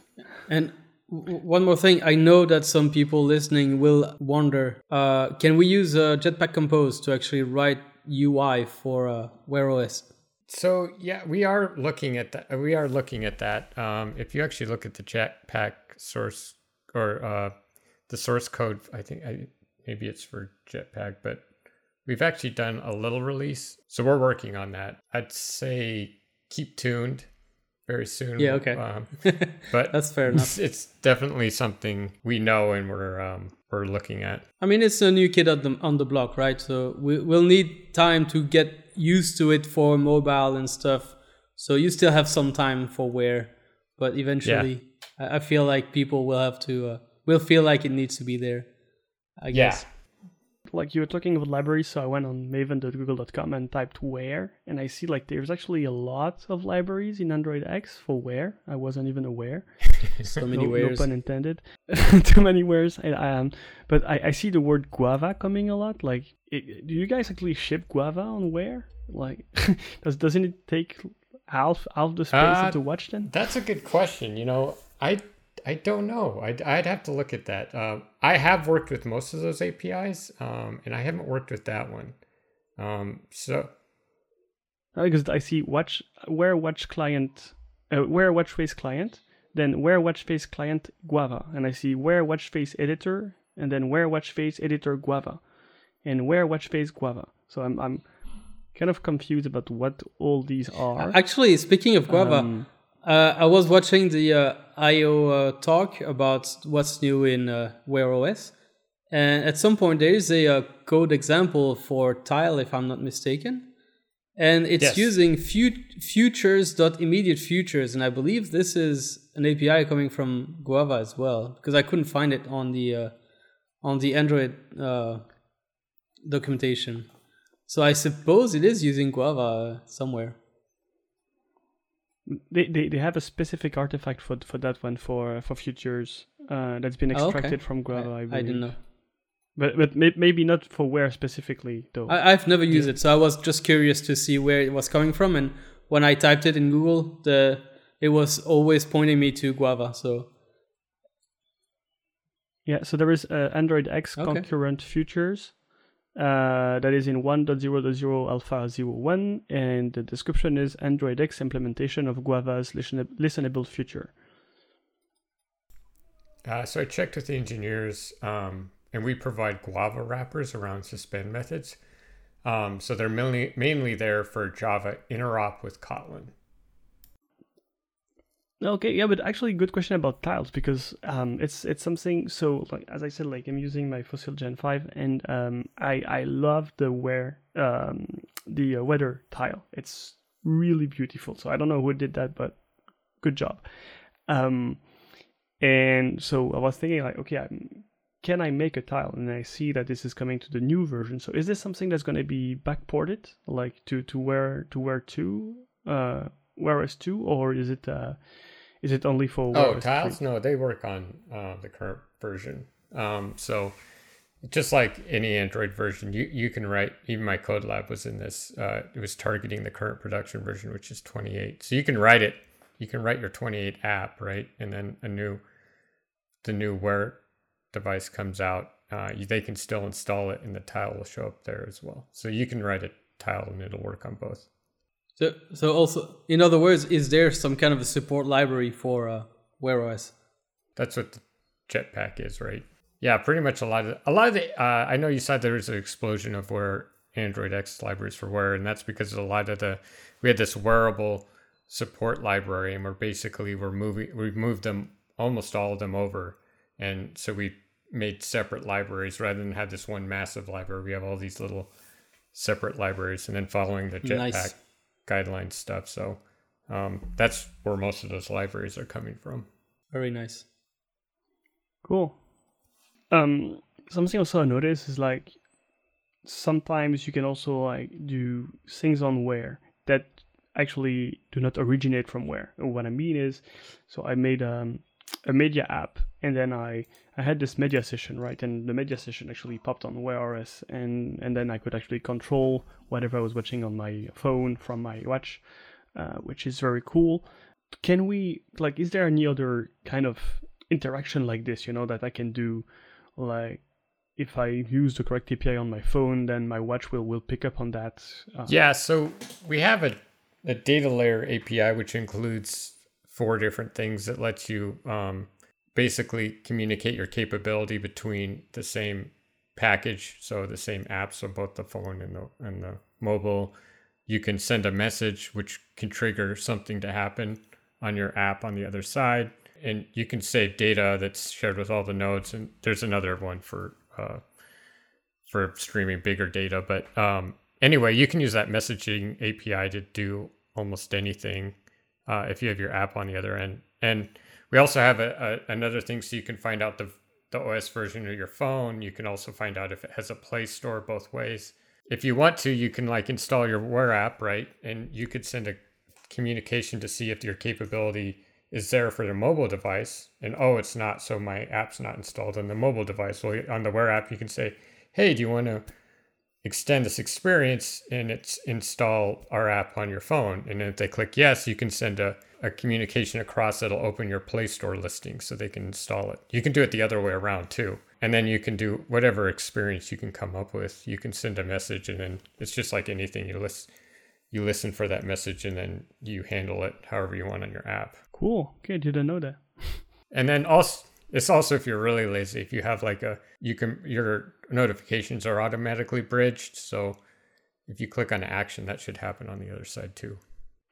And w- one more thing, I know that some people listening will wonder, uh, can we use uh, Jetpack Compose to actually write U I for uh, Wear O S? So yeah, we are looking at that. We are looking at that. Um, if you actually look at the Jetpack source or uh, the source code, I think I, maybe it's for Jetpack, but we've actually done a little release. So we're working on that. I'd say keep tuned very soon. Yeah, okay. Um, but that's fair enough. It's, it's definitely something we know and we're um, we're looking at. I mean, it's a new kid on the, on the block, right? So we, we'll need time to get used to it for mobile and stuff. So you still have some time for Wear, but eventually yeah. I, I feel like people will have to, uh, will feel like it needs to be there, I guess. Yeah. Like you were talking about libraries, so I went on maven dot google dot com and typed Wear, and I see like there's actually a lot of libraries in Android X for Wear. I wasn't even aware. So many no, wares. No pun intended. Too many wares. I, um, but I, I see the word Guava coming a lot. Like, it, do you guys actually ship Guava on Wear? Like, does doesn't it take half half the space uh, of the watch then? That's a good question. You know, I. I don't know. I'd, I'd have to look at that. Uh, I have worked with most of those A P Is, um, and I haven't worked with that one. Um, so, because I see watch Wear watch client, uh, Wear watch face client, then Wear watch face client Guava, and I see Wear watch face editor, and then Wear watch face editor Guava, and Wear watch face Guava. So I'm I'm kind of confused about what all these are. Actually, speaking of Guava. Um, uh, I was watching the uh, I O uh, talk about what's new in uh, Wear O S, and at some point there is a, uh code example for Tile, if I'm not mistaken, and it's Yes. using fut- futures.immediate futures, and I believe this is an A P I coming from Guava as well, because I couldn't find it on the uh, on the Android uh, documentation. So I suppose it is using Guava somewhere. They, they they have a specific artifact for for that one for for futures uh, that's been Oh, okay. extracted from Guava. I, I, I believe. didn't know. But but may, maybe not for where specifically though. I, I've never used it, so I was just curious to see where it was coming from. And when I typed it in Google, the it was always pointing me to Guava. So Yeah, so there is uh, Android X Okay. concurrent futures uh, that is in one point zero point zero alpha zero one, and the description is Android X implementation of Guava's listen- listenable future. Uh, so I checked with the engineers, um, and we provide Guava wrappers around suspend methods. Um, so they're mainly mainly there for Java interop with Kotlin. Okay, yeah, but actually, good question about tiles because um, it's it's something. So, like as I said, like I'm using my Fossil Gen five, and um, I I love the wear um, the uh, weather tile. It's really beautiful. So I don't know who did that, but good job. Um, and so I was thinking like, okay, I'm, can I make a tile? And I see that this is coming to the new version. So is this something that's going to be backported, like to to where to where two, uh, Wear O S two, or is it uh, is it only for Wear O Oh, S tiles? three? No, they work on uh, the current version. Um, so just like any Android version, you, you can write, even my code lab was in this, uh, it was targeting the current production version, which is twenty-eight. So you can write it, you can write your twenty-eight app, right? And then a new, the new Wear device comes out, uh, you, they can still install it and the tile will show up there as well. So you can write a tile and it'll work on both. So, so also, in other words, is there some kind of a support library for uh, Wear O S? That's what the Jetpack is, right? Yeah, pretty much a lot of a lot of the. Uh, I know you said there was an explosion of Wear Android X libraries for Wear, and that's because a lot of the we had this wearable support library, and we're basically we're moving we've moved them almost all of them over, and so we made separate libraries rather than have this one massive library. We have all these little separate libraries, and then following the Jetpack Nice. guideline stuff. So um, that's where most of those libraries are coming from. Very nice. Cool. Um, something also I noticed is like sometimes you can also like do things on Wear that actually do not originate from Wear. And what I mean is, so I made um, a media app, and then I I had this media session, right? And the media session actually popped on Wear O S, and and then I could actually control whatever I was watching on my phone from my watch, uh, which is very cool. Can we like? Is there any other kind of interaction like this? You know that I can do, like if I use the correct A P I on my phone, then my watch will will pick up on that. Uh, Yeah, so we have a, a data layer A P I, which includes four different things that lets you um, basically communicate your capability between the same package, so the same app, so both the phone and the and the mobile. You can send a message, which can trigger something to happen on your app on the other side, and you can save data that's shared with all the nodes. And there's another one for uh, for streaming bigger data, but um, anyway, you can use that messaging A P I to do almost anything uh, if you have your app on the other end. And we also have a, a, another thing, so you can find out the, the O S version of your phone. You can also find out if it has a Play Store both ways. If you want to, you can like install your Wear app, right? And you could send a communication to see if your capability is there for the mobile device. And oh, it's not, so my app's not installed on the mobile device. Well, on the Wear app, you can say, hey, do you want to extend this experience and it's install our app on your phone? And then if they click yes, you can send a, a communication across that'll open your Play Store listing so they can install it. You can do it the other way around too. And then you can do whatever experience you can come up with. You can send a message, and then it's just like anything. You listen, you listen for that message, and then you handle it however you want on your app. Cool. Okay, didn't know that. And then also, it's also if you're really lazy, if you have like a, you can, your notifications are automatically bridged. So if you click on action, that should happen on the other side too.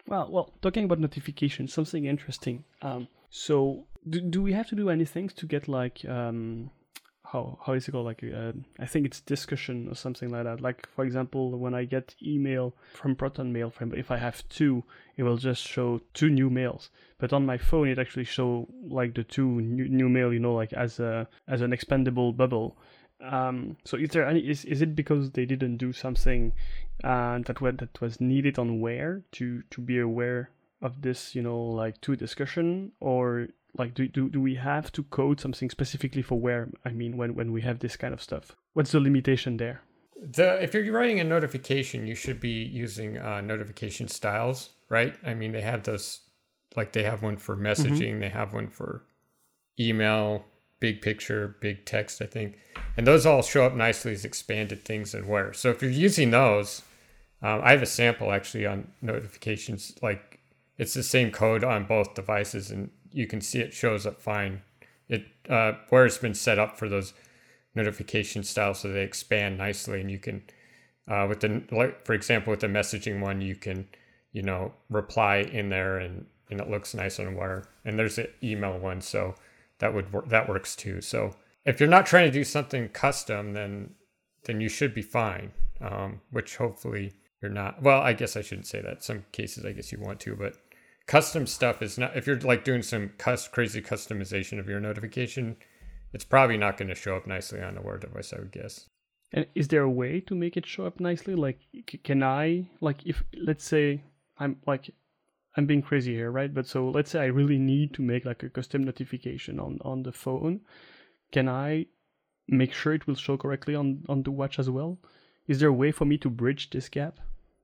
Well, well, talking about notifications, something interesting. Um, so do, do we have to do anything to get like um, how how is it called? Like uh, I think it's discussion or something like that. Like for example, when I get email from Proton Mail, from if I have two, it will just show two new mails. But on my phone, it actually show like the two new, new mail, you know, like as a as an expandable bubble. Um, so is there any? Is, is it because they didn't do something uh, that was that was needed on Wear to to be aware of this? You know, like to discussion, or like do do do we have to code something specifically for Wear? I mean, when when we have this kind of stuff, what's the limitation there? The if you're writing a notification, you should be using uh, notification styles, right? I mean, they have those, like they have one for messaging, mm-hmm. they have one for email. Big picture, big text, I think. And those all show up nicely as expanded things in Wear. So if you're using those, um, I have a sample actually on notifications. Like it's the same code on both devices and you can see it shows up fine. It uh, Wear has been set up for those notification styles so they expand nicely. And you can, uh, with the, like for example, with the messaging one, you can, you know, reply in there and, and it looks nice on Wear. And there's an email one. So that would work, that works too. So if you're not trying to do something custom, then then you should be fine. Um, which hopefully you're not. Well, I guess I shouldn't say that. Some cases, I guess you want to, but custom stuff is not. If you're like doing some cus- crazy customization of your notification, it's probably not going to show up nicely on a Wear device, I would guess. And is there a way to make it show up nicely? Like, can I like if let's say I'm like. I'm being crazy here, right? But so let's say I really need to make like a custom notification on, on the phone. Can I make sure it will show correctly on, on the watch as well? Is there a way for me to bridge this gap?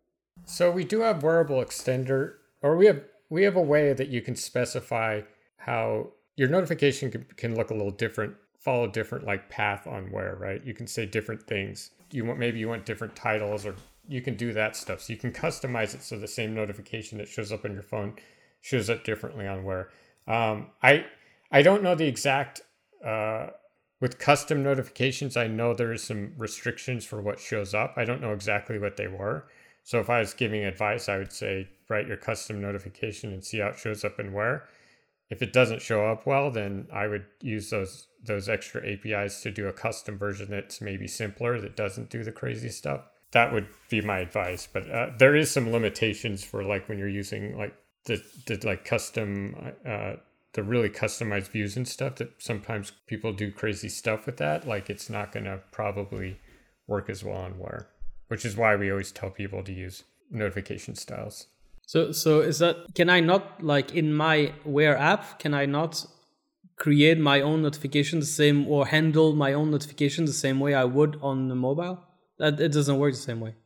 So we do have wearable extender, or we have we have a way that you can specify how your notification can, can look a little different, follow different like path on Wear, right? You can say different things. You want maybe you want different titles or you can do that stuff. So you can customize it so the same notification that shows up on your phone shows up differently on Wear. Um, I I don't know the exact, uh, with custom notifications, I know there is some restrictions for what shows up. I don't know exactly what they were. So if I was giving advice, I would say, write your custom notification and see how it shows up in Wear. If it doesn't show up well, then I would use those those extra A P Is to do a custom version that's maybe simpler, that doesn't do the crazy stuff. That would be my advice, but uh, there is some limitations for like when you're using like the, the like custom, uh, the really customized views and stuff that sometimes people do crazy stuff with that. Like it's not going to probably work as well on Wear, which is why we always tell people to use notification styles. So, so is that, can I not like in my Wear app, can I not create my own notification the same or handle my own notification the same way I would on the mobile? That it doesn't work the same way.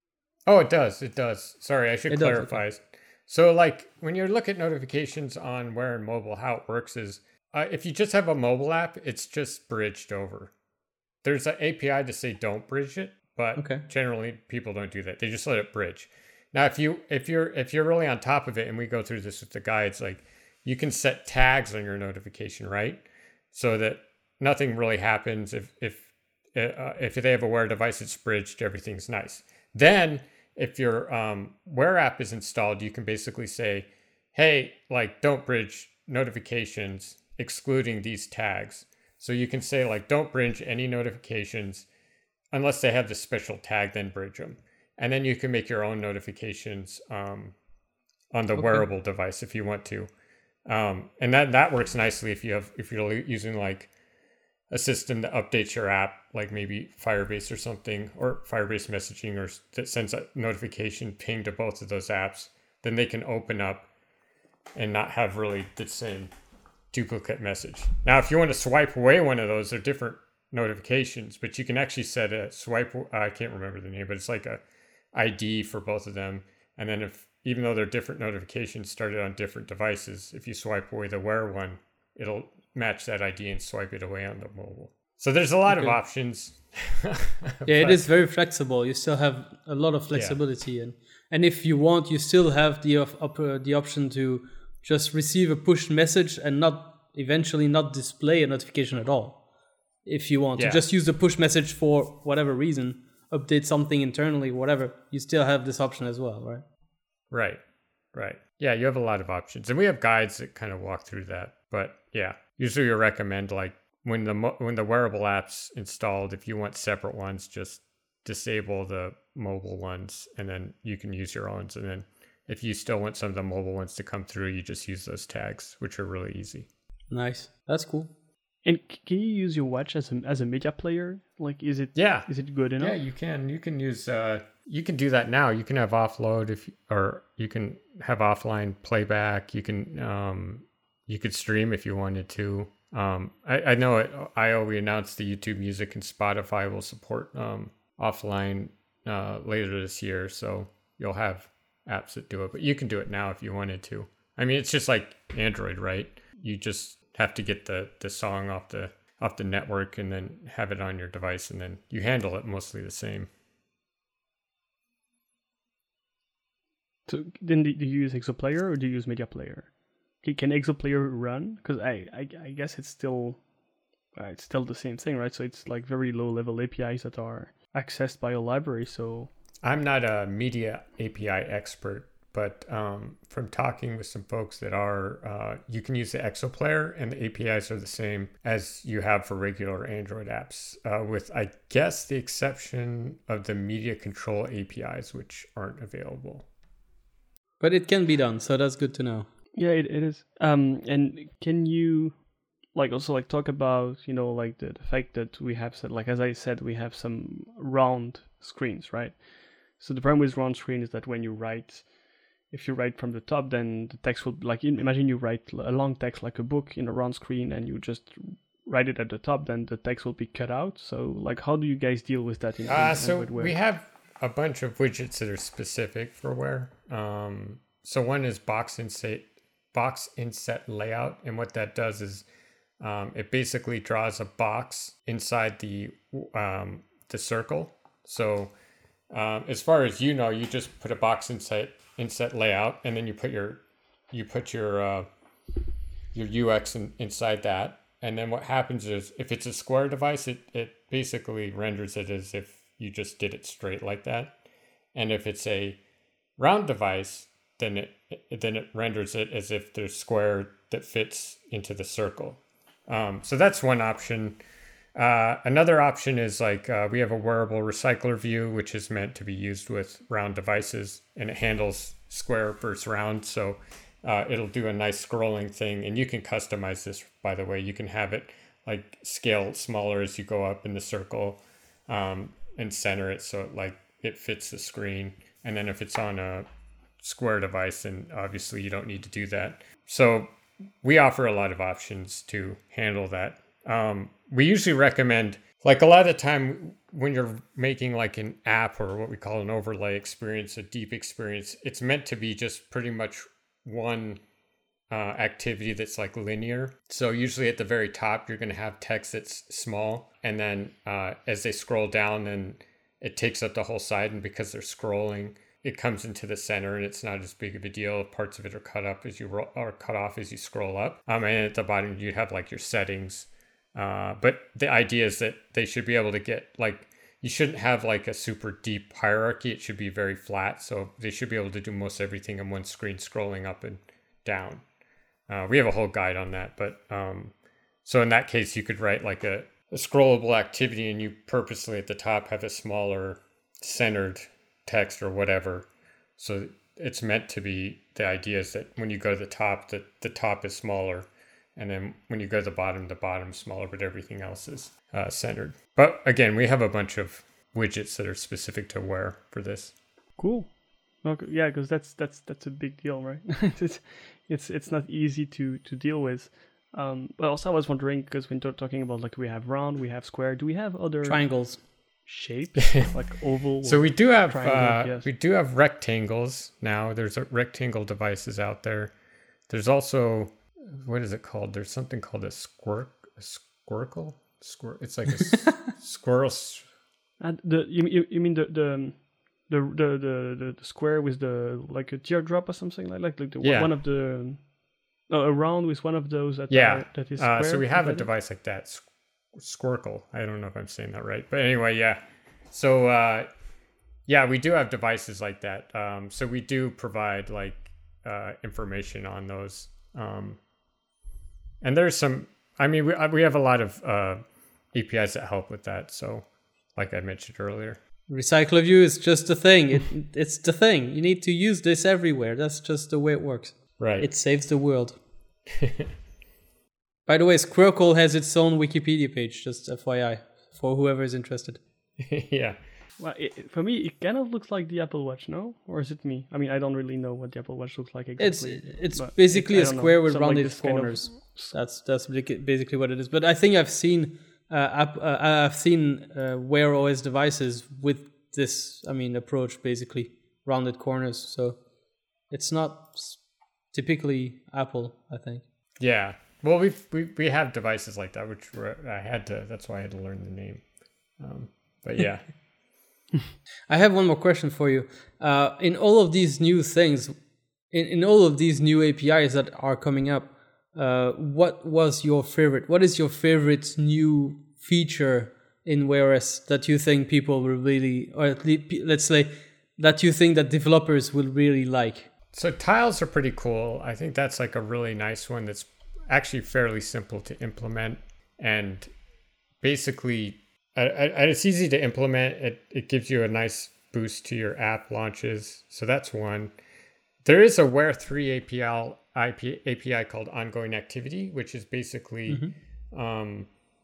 Oh, it does. It does. Sorry, I should it clarify. Does, okay. So like when you look at notifications on Wear and mobile, how it works is uh, if you just have a mobile app, it's just bridged over. There's an A P I to say don't bridge it, but okay. Generally people don't do that. They just let it bridge. Now, if you if you're if you're really on top of it, and we go through this with the guides, like you can set tags on your notification, right? So that nothing really happens if if uh, if they have a Wear device, it's bridged, everything's nice. Then if your um, Wear app is installed, you can basically say, hey, like don't bridge notifications excluding these tags. So you can say like don't bridge any notifications unless they have the special tag, then bridge them. And then you can make your own notifications um, on the okay. wearable device if you want to. Um, and that, that works nicely if you have if you're using like a system that updates your app, like maybe Firebase or something, or Firebase messaging, or that sends a notification ping to both of those apps. Then they can open up and not have really the same duplicate message. Now, if you want to swipe away one of those, they're different notifications, but you can actually set a swipe. Uh, I can't remember the name, but it's like a I D for both of them. And then if, even though they're different notifications started on different devices, if you swipe away the Wear one, it'll match that I D and swipe it away on the mobile. So there's a lot okay. of options. Yeah, but it is very flexible. You still have a lot of flexibility. Yeah. And, and if you want, you still have the, op- uh, the option to just receive a push message and not eventually not display a notification at all. If you want yeah. to just use the push message for whatever reason, update something internally, whatever, you still have this option as well, right? Right. Right. Yeah, you have a lot of options, and we have guides that kind of walk through that. But yeah, usually we recommend like when the mo- when the wearable app's installed, if you want separate ones, just disable the mobile ones, and then you can use your own. And then if you still want some of the mobile ones to come through, you just use those tags, which are really easy. Nice. That's cool. And c- can you use your watch as a as a media player? Like, is it Yeah. is it good enough? Yeah, you can. You can use. Uh, you can do that now. You can have offload if, or you can have offline playback. You can. Um, you could stream if you wanted to. Um, I, I know at I O we announced the YouTube Music and Spotify will support um, offline uh, later this year, so you'll have apps that do it. But you can do it now if you wanted to. I mean, it's just like Android, right? You just have to get the the song off the off the network and then have it on your device, and then you handle it mostly the same. So then do do you use Exoplayer or do you use Media Player? Can, can Exoplayer run? Because I, I I guess it's still uh, it's still the same thing, right? So it's like very low level A P Is that are accessed by a library. So I'm not a media A P I expert, but um, from talking with some folks that are, uh, you can use the Exoplayer and the A P Is are the same as you have for regular Android apps, uh, with, I guess, the exception of the media control A P Is, which aren't available. But it can be done, so that's good to know. yeah, it, it is. Um, and can you like also like talk about, you know, like the, the fact that we have said, like as I said, we have some round screens, right? So the problem with round screen is that when you write, if you write from the top, then the text will, like, imagine you write a long text like a book in a round screen and you just write it at the top, then the text will be cut out. So like, how do you guys deal with that in, Uh, in so Android Wear? we have a bunch of widgets that are specific for Wear. Um, so one is box inset, box inset layout. And what that does is um, it basically draws a box inside the, um, the circle. So um, as far as you know, you just put a box inset inset layout, and then you put your you put your uh, your U X in, inside that, and then what happens is if it's a square device, it it basically renders it as if you just did it straight like that, and if it's a round device, then it, it then it renders it as if there's square that fits into the circle. Um, so that's one option. Uh, another option is like uh, we have a wearable recycler view, which is meant to be used with round devices, and it handles square versus round. So uh, it'll do a nice scrolling thing, and you can customize this, by the way. You can have it like scale smaller as you go up in the circle, um, and center it so it like it fits the screen. And then if it's on a square device, then obviously you don't need to do that. So we offer a lot of options to handle that. Um, we usually recommend, like a lot of the time when you're making like an app or what we call an overlay experience, a deep experience, it's meant to be just pretty much one uh, activity that's like linear. So usually at the very top, you're going to have text that's small. And then uh, as they scroll down, then it takes up the whole side. And because they're scrolling, it comes into the center, and it's not as big of a deal. Parts of it are cut up as you roll, or cut off as you scroll up. Um, and at the bottom, you have like your settings. Uh, but the idea is that they should be able to get like, you shouldn't have like a super deep hierarchy. It should be very flat. So they should be able to do most everything on one screen, scrolling up and down. Uh, we have a whole guide on that. But um, so in that case, you could write like a, a scrollable activity, and you purposely at the top have a smaller centered text or whatever. So it's meant to be, the idea is that when you go to the top, that the top is smaller. And then when you go to the bottom, the bottom's smaller, but everything else is uh, centered. But again, we have a bunch of widgets that are specific to Wear for this. Cool. Okay, yeah, because that's that's that's a big deal, right? it's it's it's not easy to to deal with. Um, but also I was wondering, because when we're talking about like we have round, we have square. Do we have other Triangles. shapes like oval? So we do have triangle, uh, yes. we do have rectangles now. There's a rectangle devices out there. There's also, what is it called? There's something called a squirk, a squircle. Squir- It's like a s- squirrel. s- And the you you, you mean the the the the the the square with the like a teardrop or something like like, like the, Yeah. one of the no, a round with one of those that Yeah. are, that is Uh, square. so we is have a that it? device like that, Squ- Squircle. I don't know if I'm saying that right, but anyway, yeah. So uh, yeah, we do have devices like that. Um, so we do provide like uh, information on those. Um, and there's some, I mean, we, we have a lot of uh, A P Is that help with that. So like I mentioned earlier. Recycle View is just a thing. It, it's the thing. You need to use this everywhere. That's just the way it works. Right. It saves the world. By the way, Squircle has its own Wikipedia page, just F Y I, for whoever is interested. Yeah. Well, it, for me, it kind of looks like the Apple Watch, no? Or is it me? I mean, I don't really know what the Apple Watch looks like exactly. It's it's basically it, a square with rounded rounded kind of- corners. That's that's basically what it is. But I think I've seen uh, app, uh, I've seen uh, Wear O S devices with this. I mean, approach basically rounded corners. So it's not s- typically Apple, I think. Yeah. Well, we've, we we have devices like that, which were, I had to. That's why I had to learn the name. Um, but yeah. I have one more question for you. Uh, in all of these new things, in, in all of these new A P Is that are coming up, uh, what was your favorite? What is your favorite new feature in Wear O S that you think people will really, or at least, let's say, that you think that developers will really like? So tiles are pretty cool. I think that's like a really nice one that's actually fairly simple to implement, and basically uh, it's easy to implement. It it gives you a nice boost to your app launches. So that's one. There is a Wear three A P I A P I called Ongoing Activity, which is basically mm-hmm. um,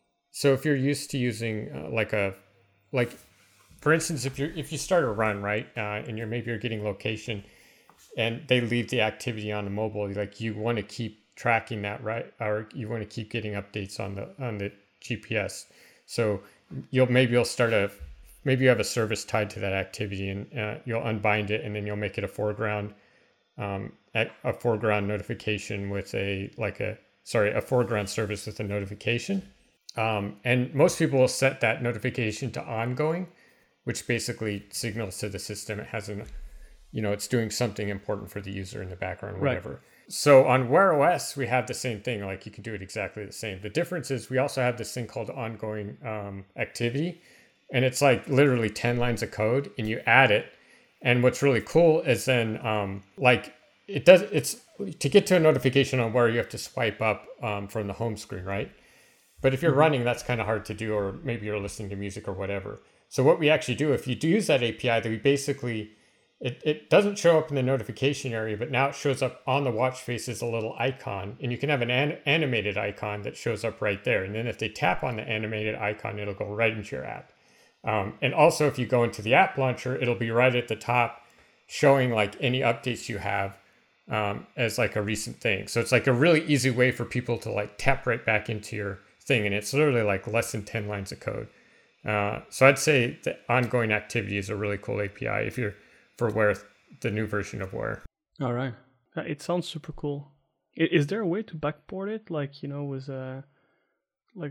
so if you're used to using uh, like a like for instance, if you if you start a run, right, uh, and you're maybe you're getting location, and they leave the activity on the mobile, like you want to keep tracking that, right, or you want to keep getting updates on the on the G P S. So you'll maybe you'll start a maybe you have a service tied to that activity, and uh, you'll unbind it, and then you'll make it a foreground um, a foreground notification with a like a sorry a foreground service with a notification. Um, and most people will set that notification to ongoing, which basically signals to the system it has an, you know, it's doing something important for the user in the background, whatever. Right. So on Wear O S, we have the same thing. Like you can do it exactly the same. The difference is we also have this thing called ongoing um, activity, and it's like literally ten lines of code, and you add it. And what's really cool is then um, like it does, it's to get to a notification on Wear, you have to swipe up um, from the home screen, right? But if you're mm-hmm. running, that's kind of hard to do, or maybe you're listening to music or whatever. So what we actually do, if you do use that A P I, that we basically, it, it doesn't show up in the notification area, but now it shows up on the watch face as a little icon, and you can have an, an animated icon that shows up right there. And then if they tap on the animated icon, it'll go right into your app. Um, and also if you go into the app launcher, it'll be right at the top showing like any updates you have um, as like a recent thing. So it's like a really easy way for people to like tap right back into your thing. And it's literally like less than ten lines of code. Uh, so I'd say the ongoing activity is a really cool A P I if you're for Wear, the new version of Wear. All right. Uh, it sounds super cool. I, is there a way to backport it? Like, you know, with uh, like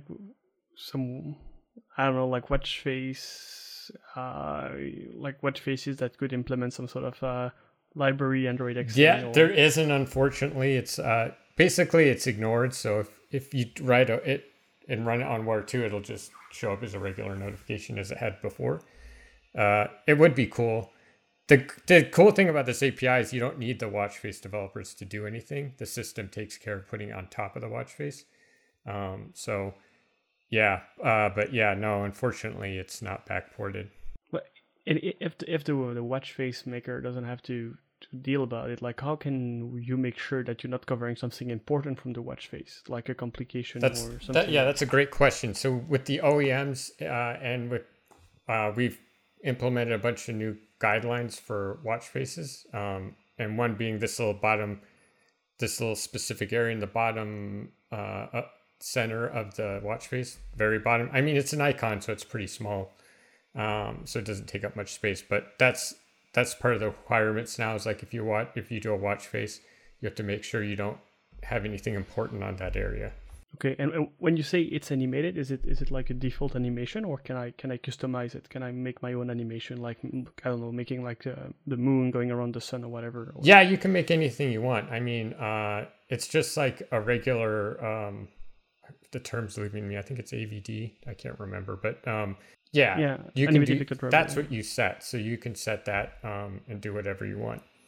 some, I don't know, like watch face, uh, like watch faces that could implement some sort of uh, library Android X. Yeah, or... there isn't, unfortunately. It's uh, basically it's ignored. So if, if you write a, it and run it on Wear two, it'll just show up as a regular notification as it had before. Uh, it would be cool. The the cool thing about this A P I is you don't need the watch face developers to do anything. The system takes care of putting it on top of the watch face. Um, so yeah, uh, but yeah, no, unfortunately, it's not backported. But if the, if the the watch face maker doesn't have to, to deal about it, like how can you make sure that you're not covering something important from the watch face, like a complication that's, or something? That, yeah, that's a great question. So with the O E Ms uh, and with uh, we've implemented a bunch of new guidelines for watch faces, um, and one being this little bottom, this little specific area in the bottom uh, uh, center of the watch face, very bottom. I mean, it's an icon, so it's pretty small, um, so it doesn't take up much space. But that's that's part of the requirements now. Is like if you watch, if you do a watch face, you have to make sure you don't have anything important on that area. Okay, and, and when you say it's animated, is it is it like a default animation, or can I can I customize it? Can I make my own animation, like I don't know, making like uh, the moon going around the sun or whatever? Or... Yeah, you can make anything you want. I mean, uh, it's just like a regular. Um, the term's leaving me. I think it's A V D. I can't remember, but um, yeah, yeah, you can do. Driver, That's yeah. what you set, so you can set that um, and do whatever you want.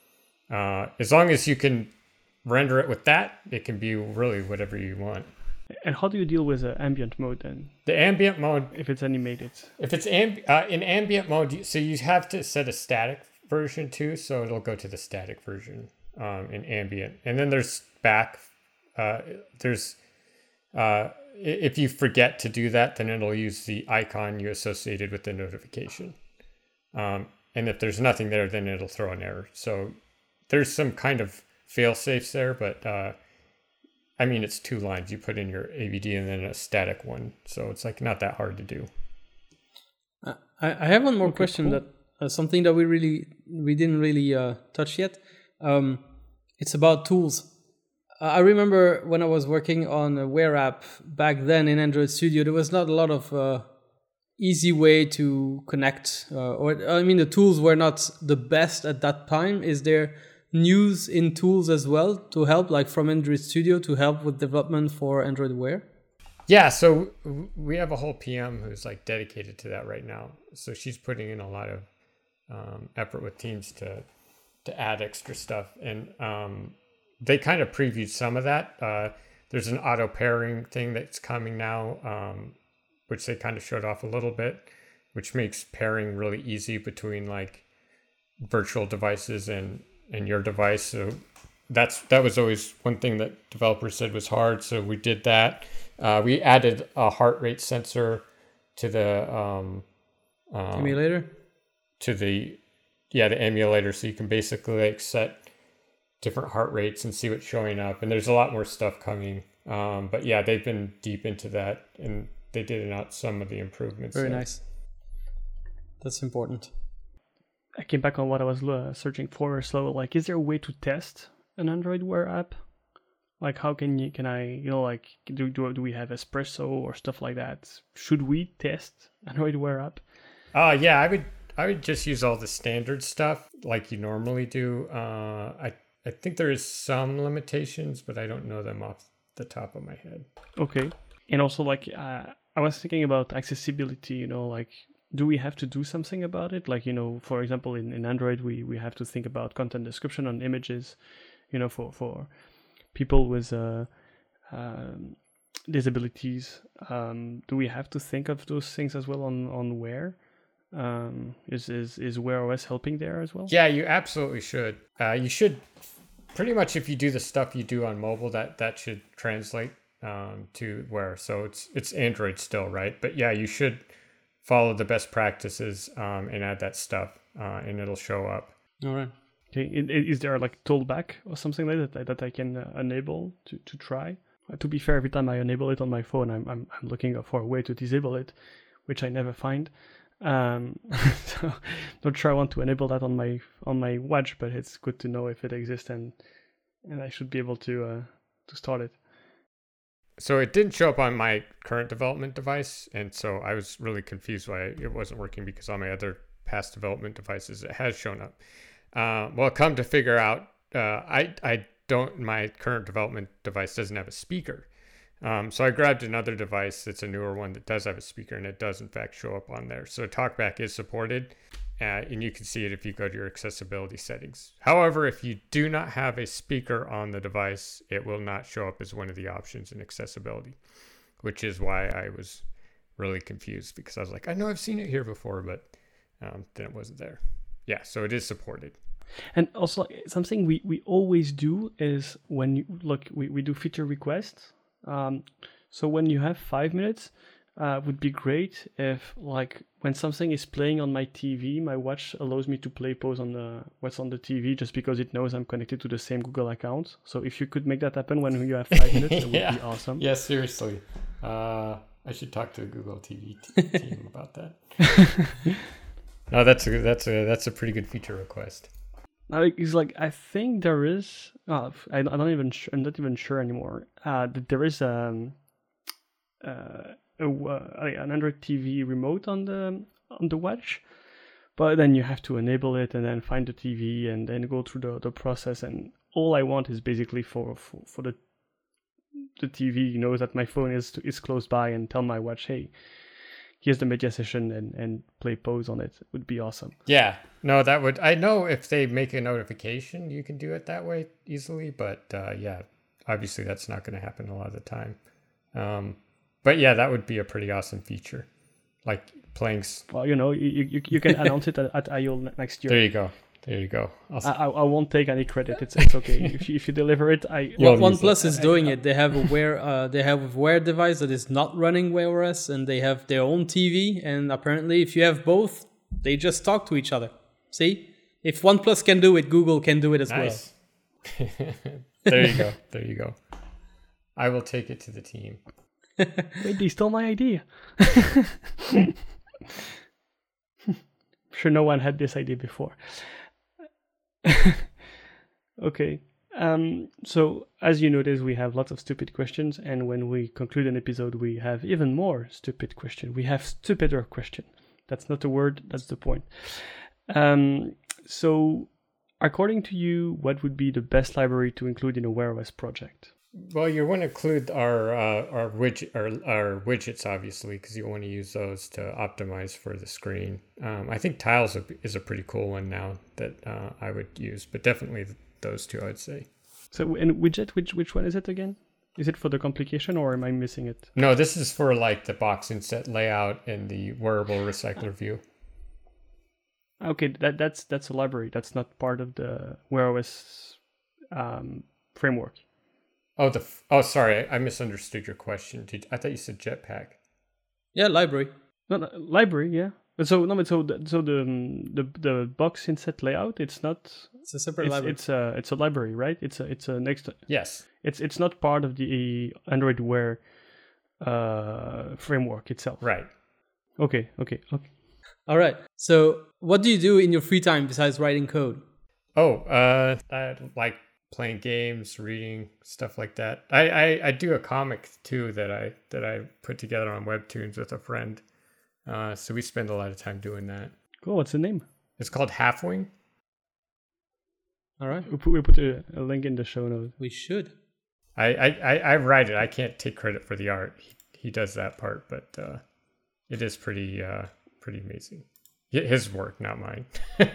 Uh, as long as you can render it with that, it can be really whatever you want. And how do you deal with uh, ambient mode then? The ambient mode, if it's animated. If it's amb- uh, in ambient mode, so you have to set a static version too, so it'll go to the static version um, in ambient. And then there's back, uh, there's, uh, if you forget to do that, then it'll use the icon you associated with the notification. Um, and if there's nothing there, then it'll throw an error. So there's some kind of fail safes there, but uh, I mean, it's two lines. You put in your A B D and then a static one. So it's like not that hard to do. Uh, I, I have one more okay, question cool. that uh, something that we really, we didn't really uh, touch yet. Um, it's about tools. Uh, I remember when I was working on a Wear app back then in Android Studio, there was not a lot of uh, easy way to connect. Uh, or I mean, the tools were not the best at that time. Is there news in tools as well to help, like from Android Studio, to help with development for Android Wear? Yeah, so we have a whole P M who's like dedicated to that right now. So she's putting in a lot of um, effort with teams to to add extra stuff, and um, they kind of previewed some of that. Uh, there's an auto pairing thing that's coming now, um, which they kind of showed off a little bit, which makes pairing really easy between like virtual devices and and your device. So that's that was always one thing that developers said was hard. So we did that. Uh, we added a heart rate sensor to the um, um, Emulator? To the yeah the emulator, so you can basically like set different heart rates and see what's showing up. And there's a lot more stuff coming. Um, but yeah, they've been deep into that, and they did out some of the improvements. Very there. nice. That's important. I came back on what I was uh, searching for. So, like, is there a way to test an Android Wear app? Like, how can you, can I, you know, like, do, do, do we have Espresso or stuff like that? Should we test Android Wear app? Uh, yeah, I would, I would just use all the standard stuff like you normally do. Uh, I, I think there is some limitations, but I don't know them off the top of my head. Okay. And also, like, uh, I was thinking about accessibility, you know, like, do we have to do something about it? Like, you know, for example, in, in Android, we, we have to think about content description on images, you know, for, for people with uh, um, disabilities. Um, do we have to think of those things as well on, on Wear? Um, is, is, is Wear O S helping there as well? Yeah, you absolutely should. Uh, you should pretty much, if you do the stuff you do on mobile, that, that should translate um, to Wear. So it's, it's Android still, right? But yeah, you should follow the best practices um, and add that stuff uh, and it'll show up. All right. Okay. Is there like toolback or something like that that I can uh, enable to, to try? Uh, to be fair, every time I enable it on my phone, I'm, I'm I'm looking for a way to disable it, which I never find. Um, so not sure I want to enable that on my on my watch, but it's good to know if it exists, and and I should be able to uh, to start it. So it didn't show up on my current development device, and so I was really confused why it wasn't working, because on my other past development devices it has shown up. Uh, well, come to figure out, uh, I I don't. My current development device doesn't have a speaker, um, so I grabbed another device that's a newer one that does have a speaker, and it does in fact show up on there. So TalkBack is supported, uh, and you can see it if you go to your accessibility settings. However, if you do not have a speaker on the device, it will not show up as one of the options in accessibility, which is why I was really confused, because I was like, I know I've seen it here before, but um, then it wasn't there. Yeah, so it is supported. And also, something we, we always do is when you look, we, we do feature requests. Um, so when you have five minutes, uh, would be great if, like, when something is playing on my T V, my watch allows me to play pause on the what's on the T V, just because it knows I'm connected to the same Google account. So if you could make that happen when you have five minutes, that would yeah. be awesome. Yeah, seriously. Uh, I should talk to the Google T V t- team about that. No, that's a that's a that's a pretty good feature request. Now, it's like, I think there is. Oh, I, I don't even. I'm not even sure anymore. Uh, that there is um, uh, a, uh, an Android T V remote on the on the watch, but then you have to enable it and then find the T V and then go through the, the process. And all I want is basically for for, for the the T V knows that my phone is is close by, and tell my watch, hey, here's the media session and, and play pause on it. It would be awesome. Yeah, no, that would, I know if they make a notification, you can do it that way easily, but uh, yeah, obviously that's not going to happen a lot of the time. Um, but yeah, that would be a pretty awesome feature. Like playing. S- well, you know, you, you, you can announce it at, at I O next year. There you go. There you go. I, I, I won't take any credit. It's it's okay. if you if you deliver it, I. Well, OnePlus is doing it. They have a Wear uh, they have a Wear device that is not running Wear O S, and they have their own T V. And apparently, if you have both, they just talk to each other. See, if OnePlus can do it, Google can do it as nice. well. There you go. There you go. I will take it to the team. Wait, they stole my idea. Sure, no one had this idea before. Okay. Um, so, as you notice, we have lots of stupid questions, and when we conclude an episode, we have even more stupid questions. We have stupider question. That's not a word. That's the point. Um, so, according to you, what would be the best library to include in a Wear O S project? Well, you want to include our uh, our widget our, our widgets, obviously, because you want to use those to optimize for the screen. Um, I think Tiles is a pretty cool one now that uh, I would use, but definitely those two, I would say. So, and widget, which which one is it again? Is it for the complication, or am I missing it? No, this is for like the box inset layout and the wearable recycler view. Okay, that that's that's a library. That's not part of the Wear O S um, framework. Oh, the oh, sorry, I misunderstood your question. Did, I thought you said Jetpack. Yeah, library. No, no, library, yeah. But so no, but so the, so the um, the the box inset layout. It's not. It's a separate it's, library. It's a it's a library, right? It's a it's a next. Yes. It's it's not part of the Android Wear uh, framework itself. Right. Okay. Okay. Okay. All right. So, what do you do in your free time besides writing code? Oh, uh, I like playing games, reading, stuff like that. I, I, I do a comic too that I that I put together on Webtoons with a friend. Uh, so we spend a lot of time doing that. Cool. What's the name? It's called Halfwing. All right. We put, we put a, a link in the show notes. We should. I, I, I, I write it. I can't take credit for the art. He, he does that part, but uh, it is pretty uh, pretty amazing. His work, not mine.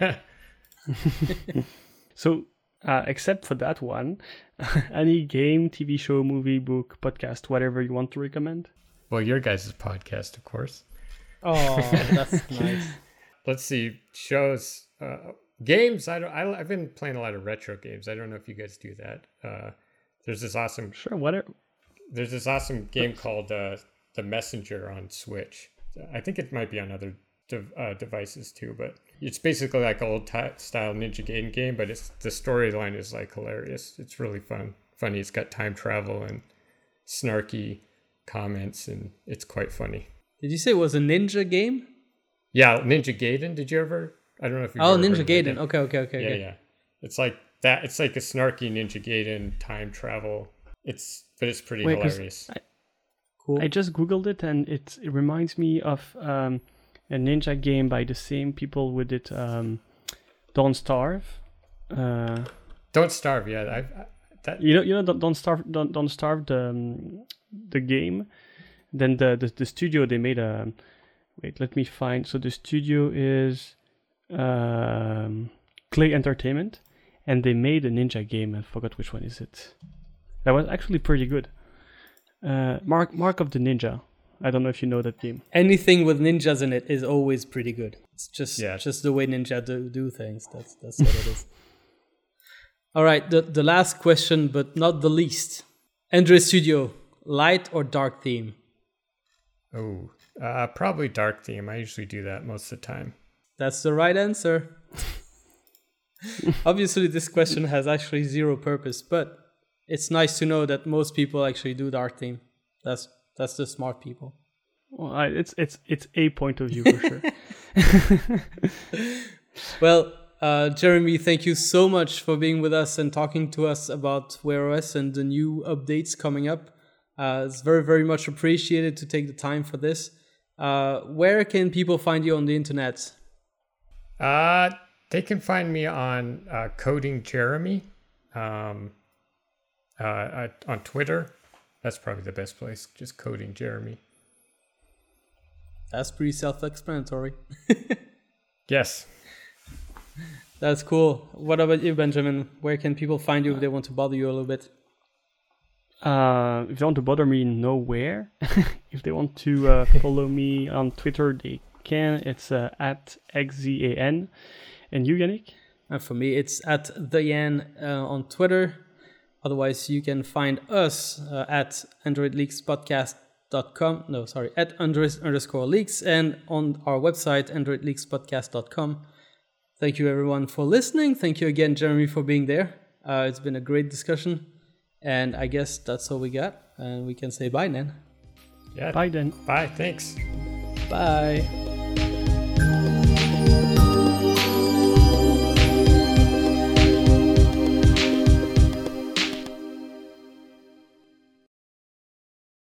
So, uh, except for that one, any game, T V show, movie, book, podcast, whatever you want to recommend? Well, your guys' podcast, of course. Oh, that's nice. Let's see. Shows, uh, games. I don't. I, I've been playing a lot of retro games. I don't know if you guys do that. Uh, there's this awesome. Sure. Whatever. There's this awesome game called uh, The Messenger on Switch. I think it might be on other de- uh, devices too, but it's basically like an old t- style Ninja Gaiden game. But it's the storyline is like hilarious. It's really fun. Funny. It's got time travel and snarky comments, and it's quite funny. Did you say it was a ninja game? Yeah, Ninja Gaiden. Did you ever? I don't know if you. Oh, Ninja Gaiden. Okay, okay, okay. Yeah, okay. yeah. It's like that. It's like a snarky Ninja Gaiden time travel. It's but it's pretty Wait, 'cause hilarious. I, Cool. I just googled it, and it it reminds me of um, a ninja game by the same people who did um, Don't Starve. Uh, Don't Starve. Yeah, I, I that. you know, you know, Don't, Don't Starve. Don't, Don't Starve the um, the game. Then the, the the studio they made a. Wait, let me find. So the studio is um, Clay Entertainment, and they made a ninja game. I forgot which one is it. That was actually pretty good. Uh, Mark Mark of the Ninja. I don't know if you know that game. Anything with ninjas in it is always pretty good. It's just Yeah. just the way ninja do, do things. That's that's what it is. All right, the the last question, but not the least. Android Studio, light or dark theme? Oh, uh, probably dark theme. I usually do that most of the time. That's the right answer. Obviously, this question has actually zero purpose, but it's nice to know that most people actually do dark theme. That's that's the smart people. Well, I, it's it's it's a point of view for sure. Well, uh, Jeremy, thank you so much for being with us and talking to us about Wear O S and the new updates coming up. Uh, it's very, very much appreciated to take the time for this. Uh, where can people find you on the internet? Uh, they can find me on uh, Coding Jeremy, um, uh, on Twitter. That's probably the best place. Just Coding Jeremy. That's pretty self-explanatory. Yes. That's cool. What about you, Benjamin? Where can people find you if they want to bother you a little bit? Uh, if they want to bother me, nowhere. If they want to uh, follow me on Twitter, they can. It's uh, at X Z A N. And you, Yannick? And for me, it's at the Yan uh, on Twitter. Otherwise, you can find us uh, at android leaks podcast dot com. No, sorry, at android underscore leaks, and on our website, android leaks podcast dot com. Thank you, everyone, for listening. Thank you again, Jeremy, for being there. Uh, it's been a great discussion. And I guess that's all we got. And we can say bye then. Yeah. Bye then. Bye. Thanks. Bye.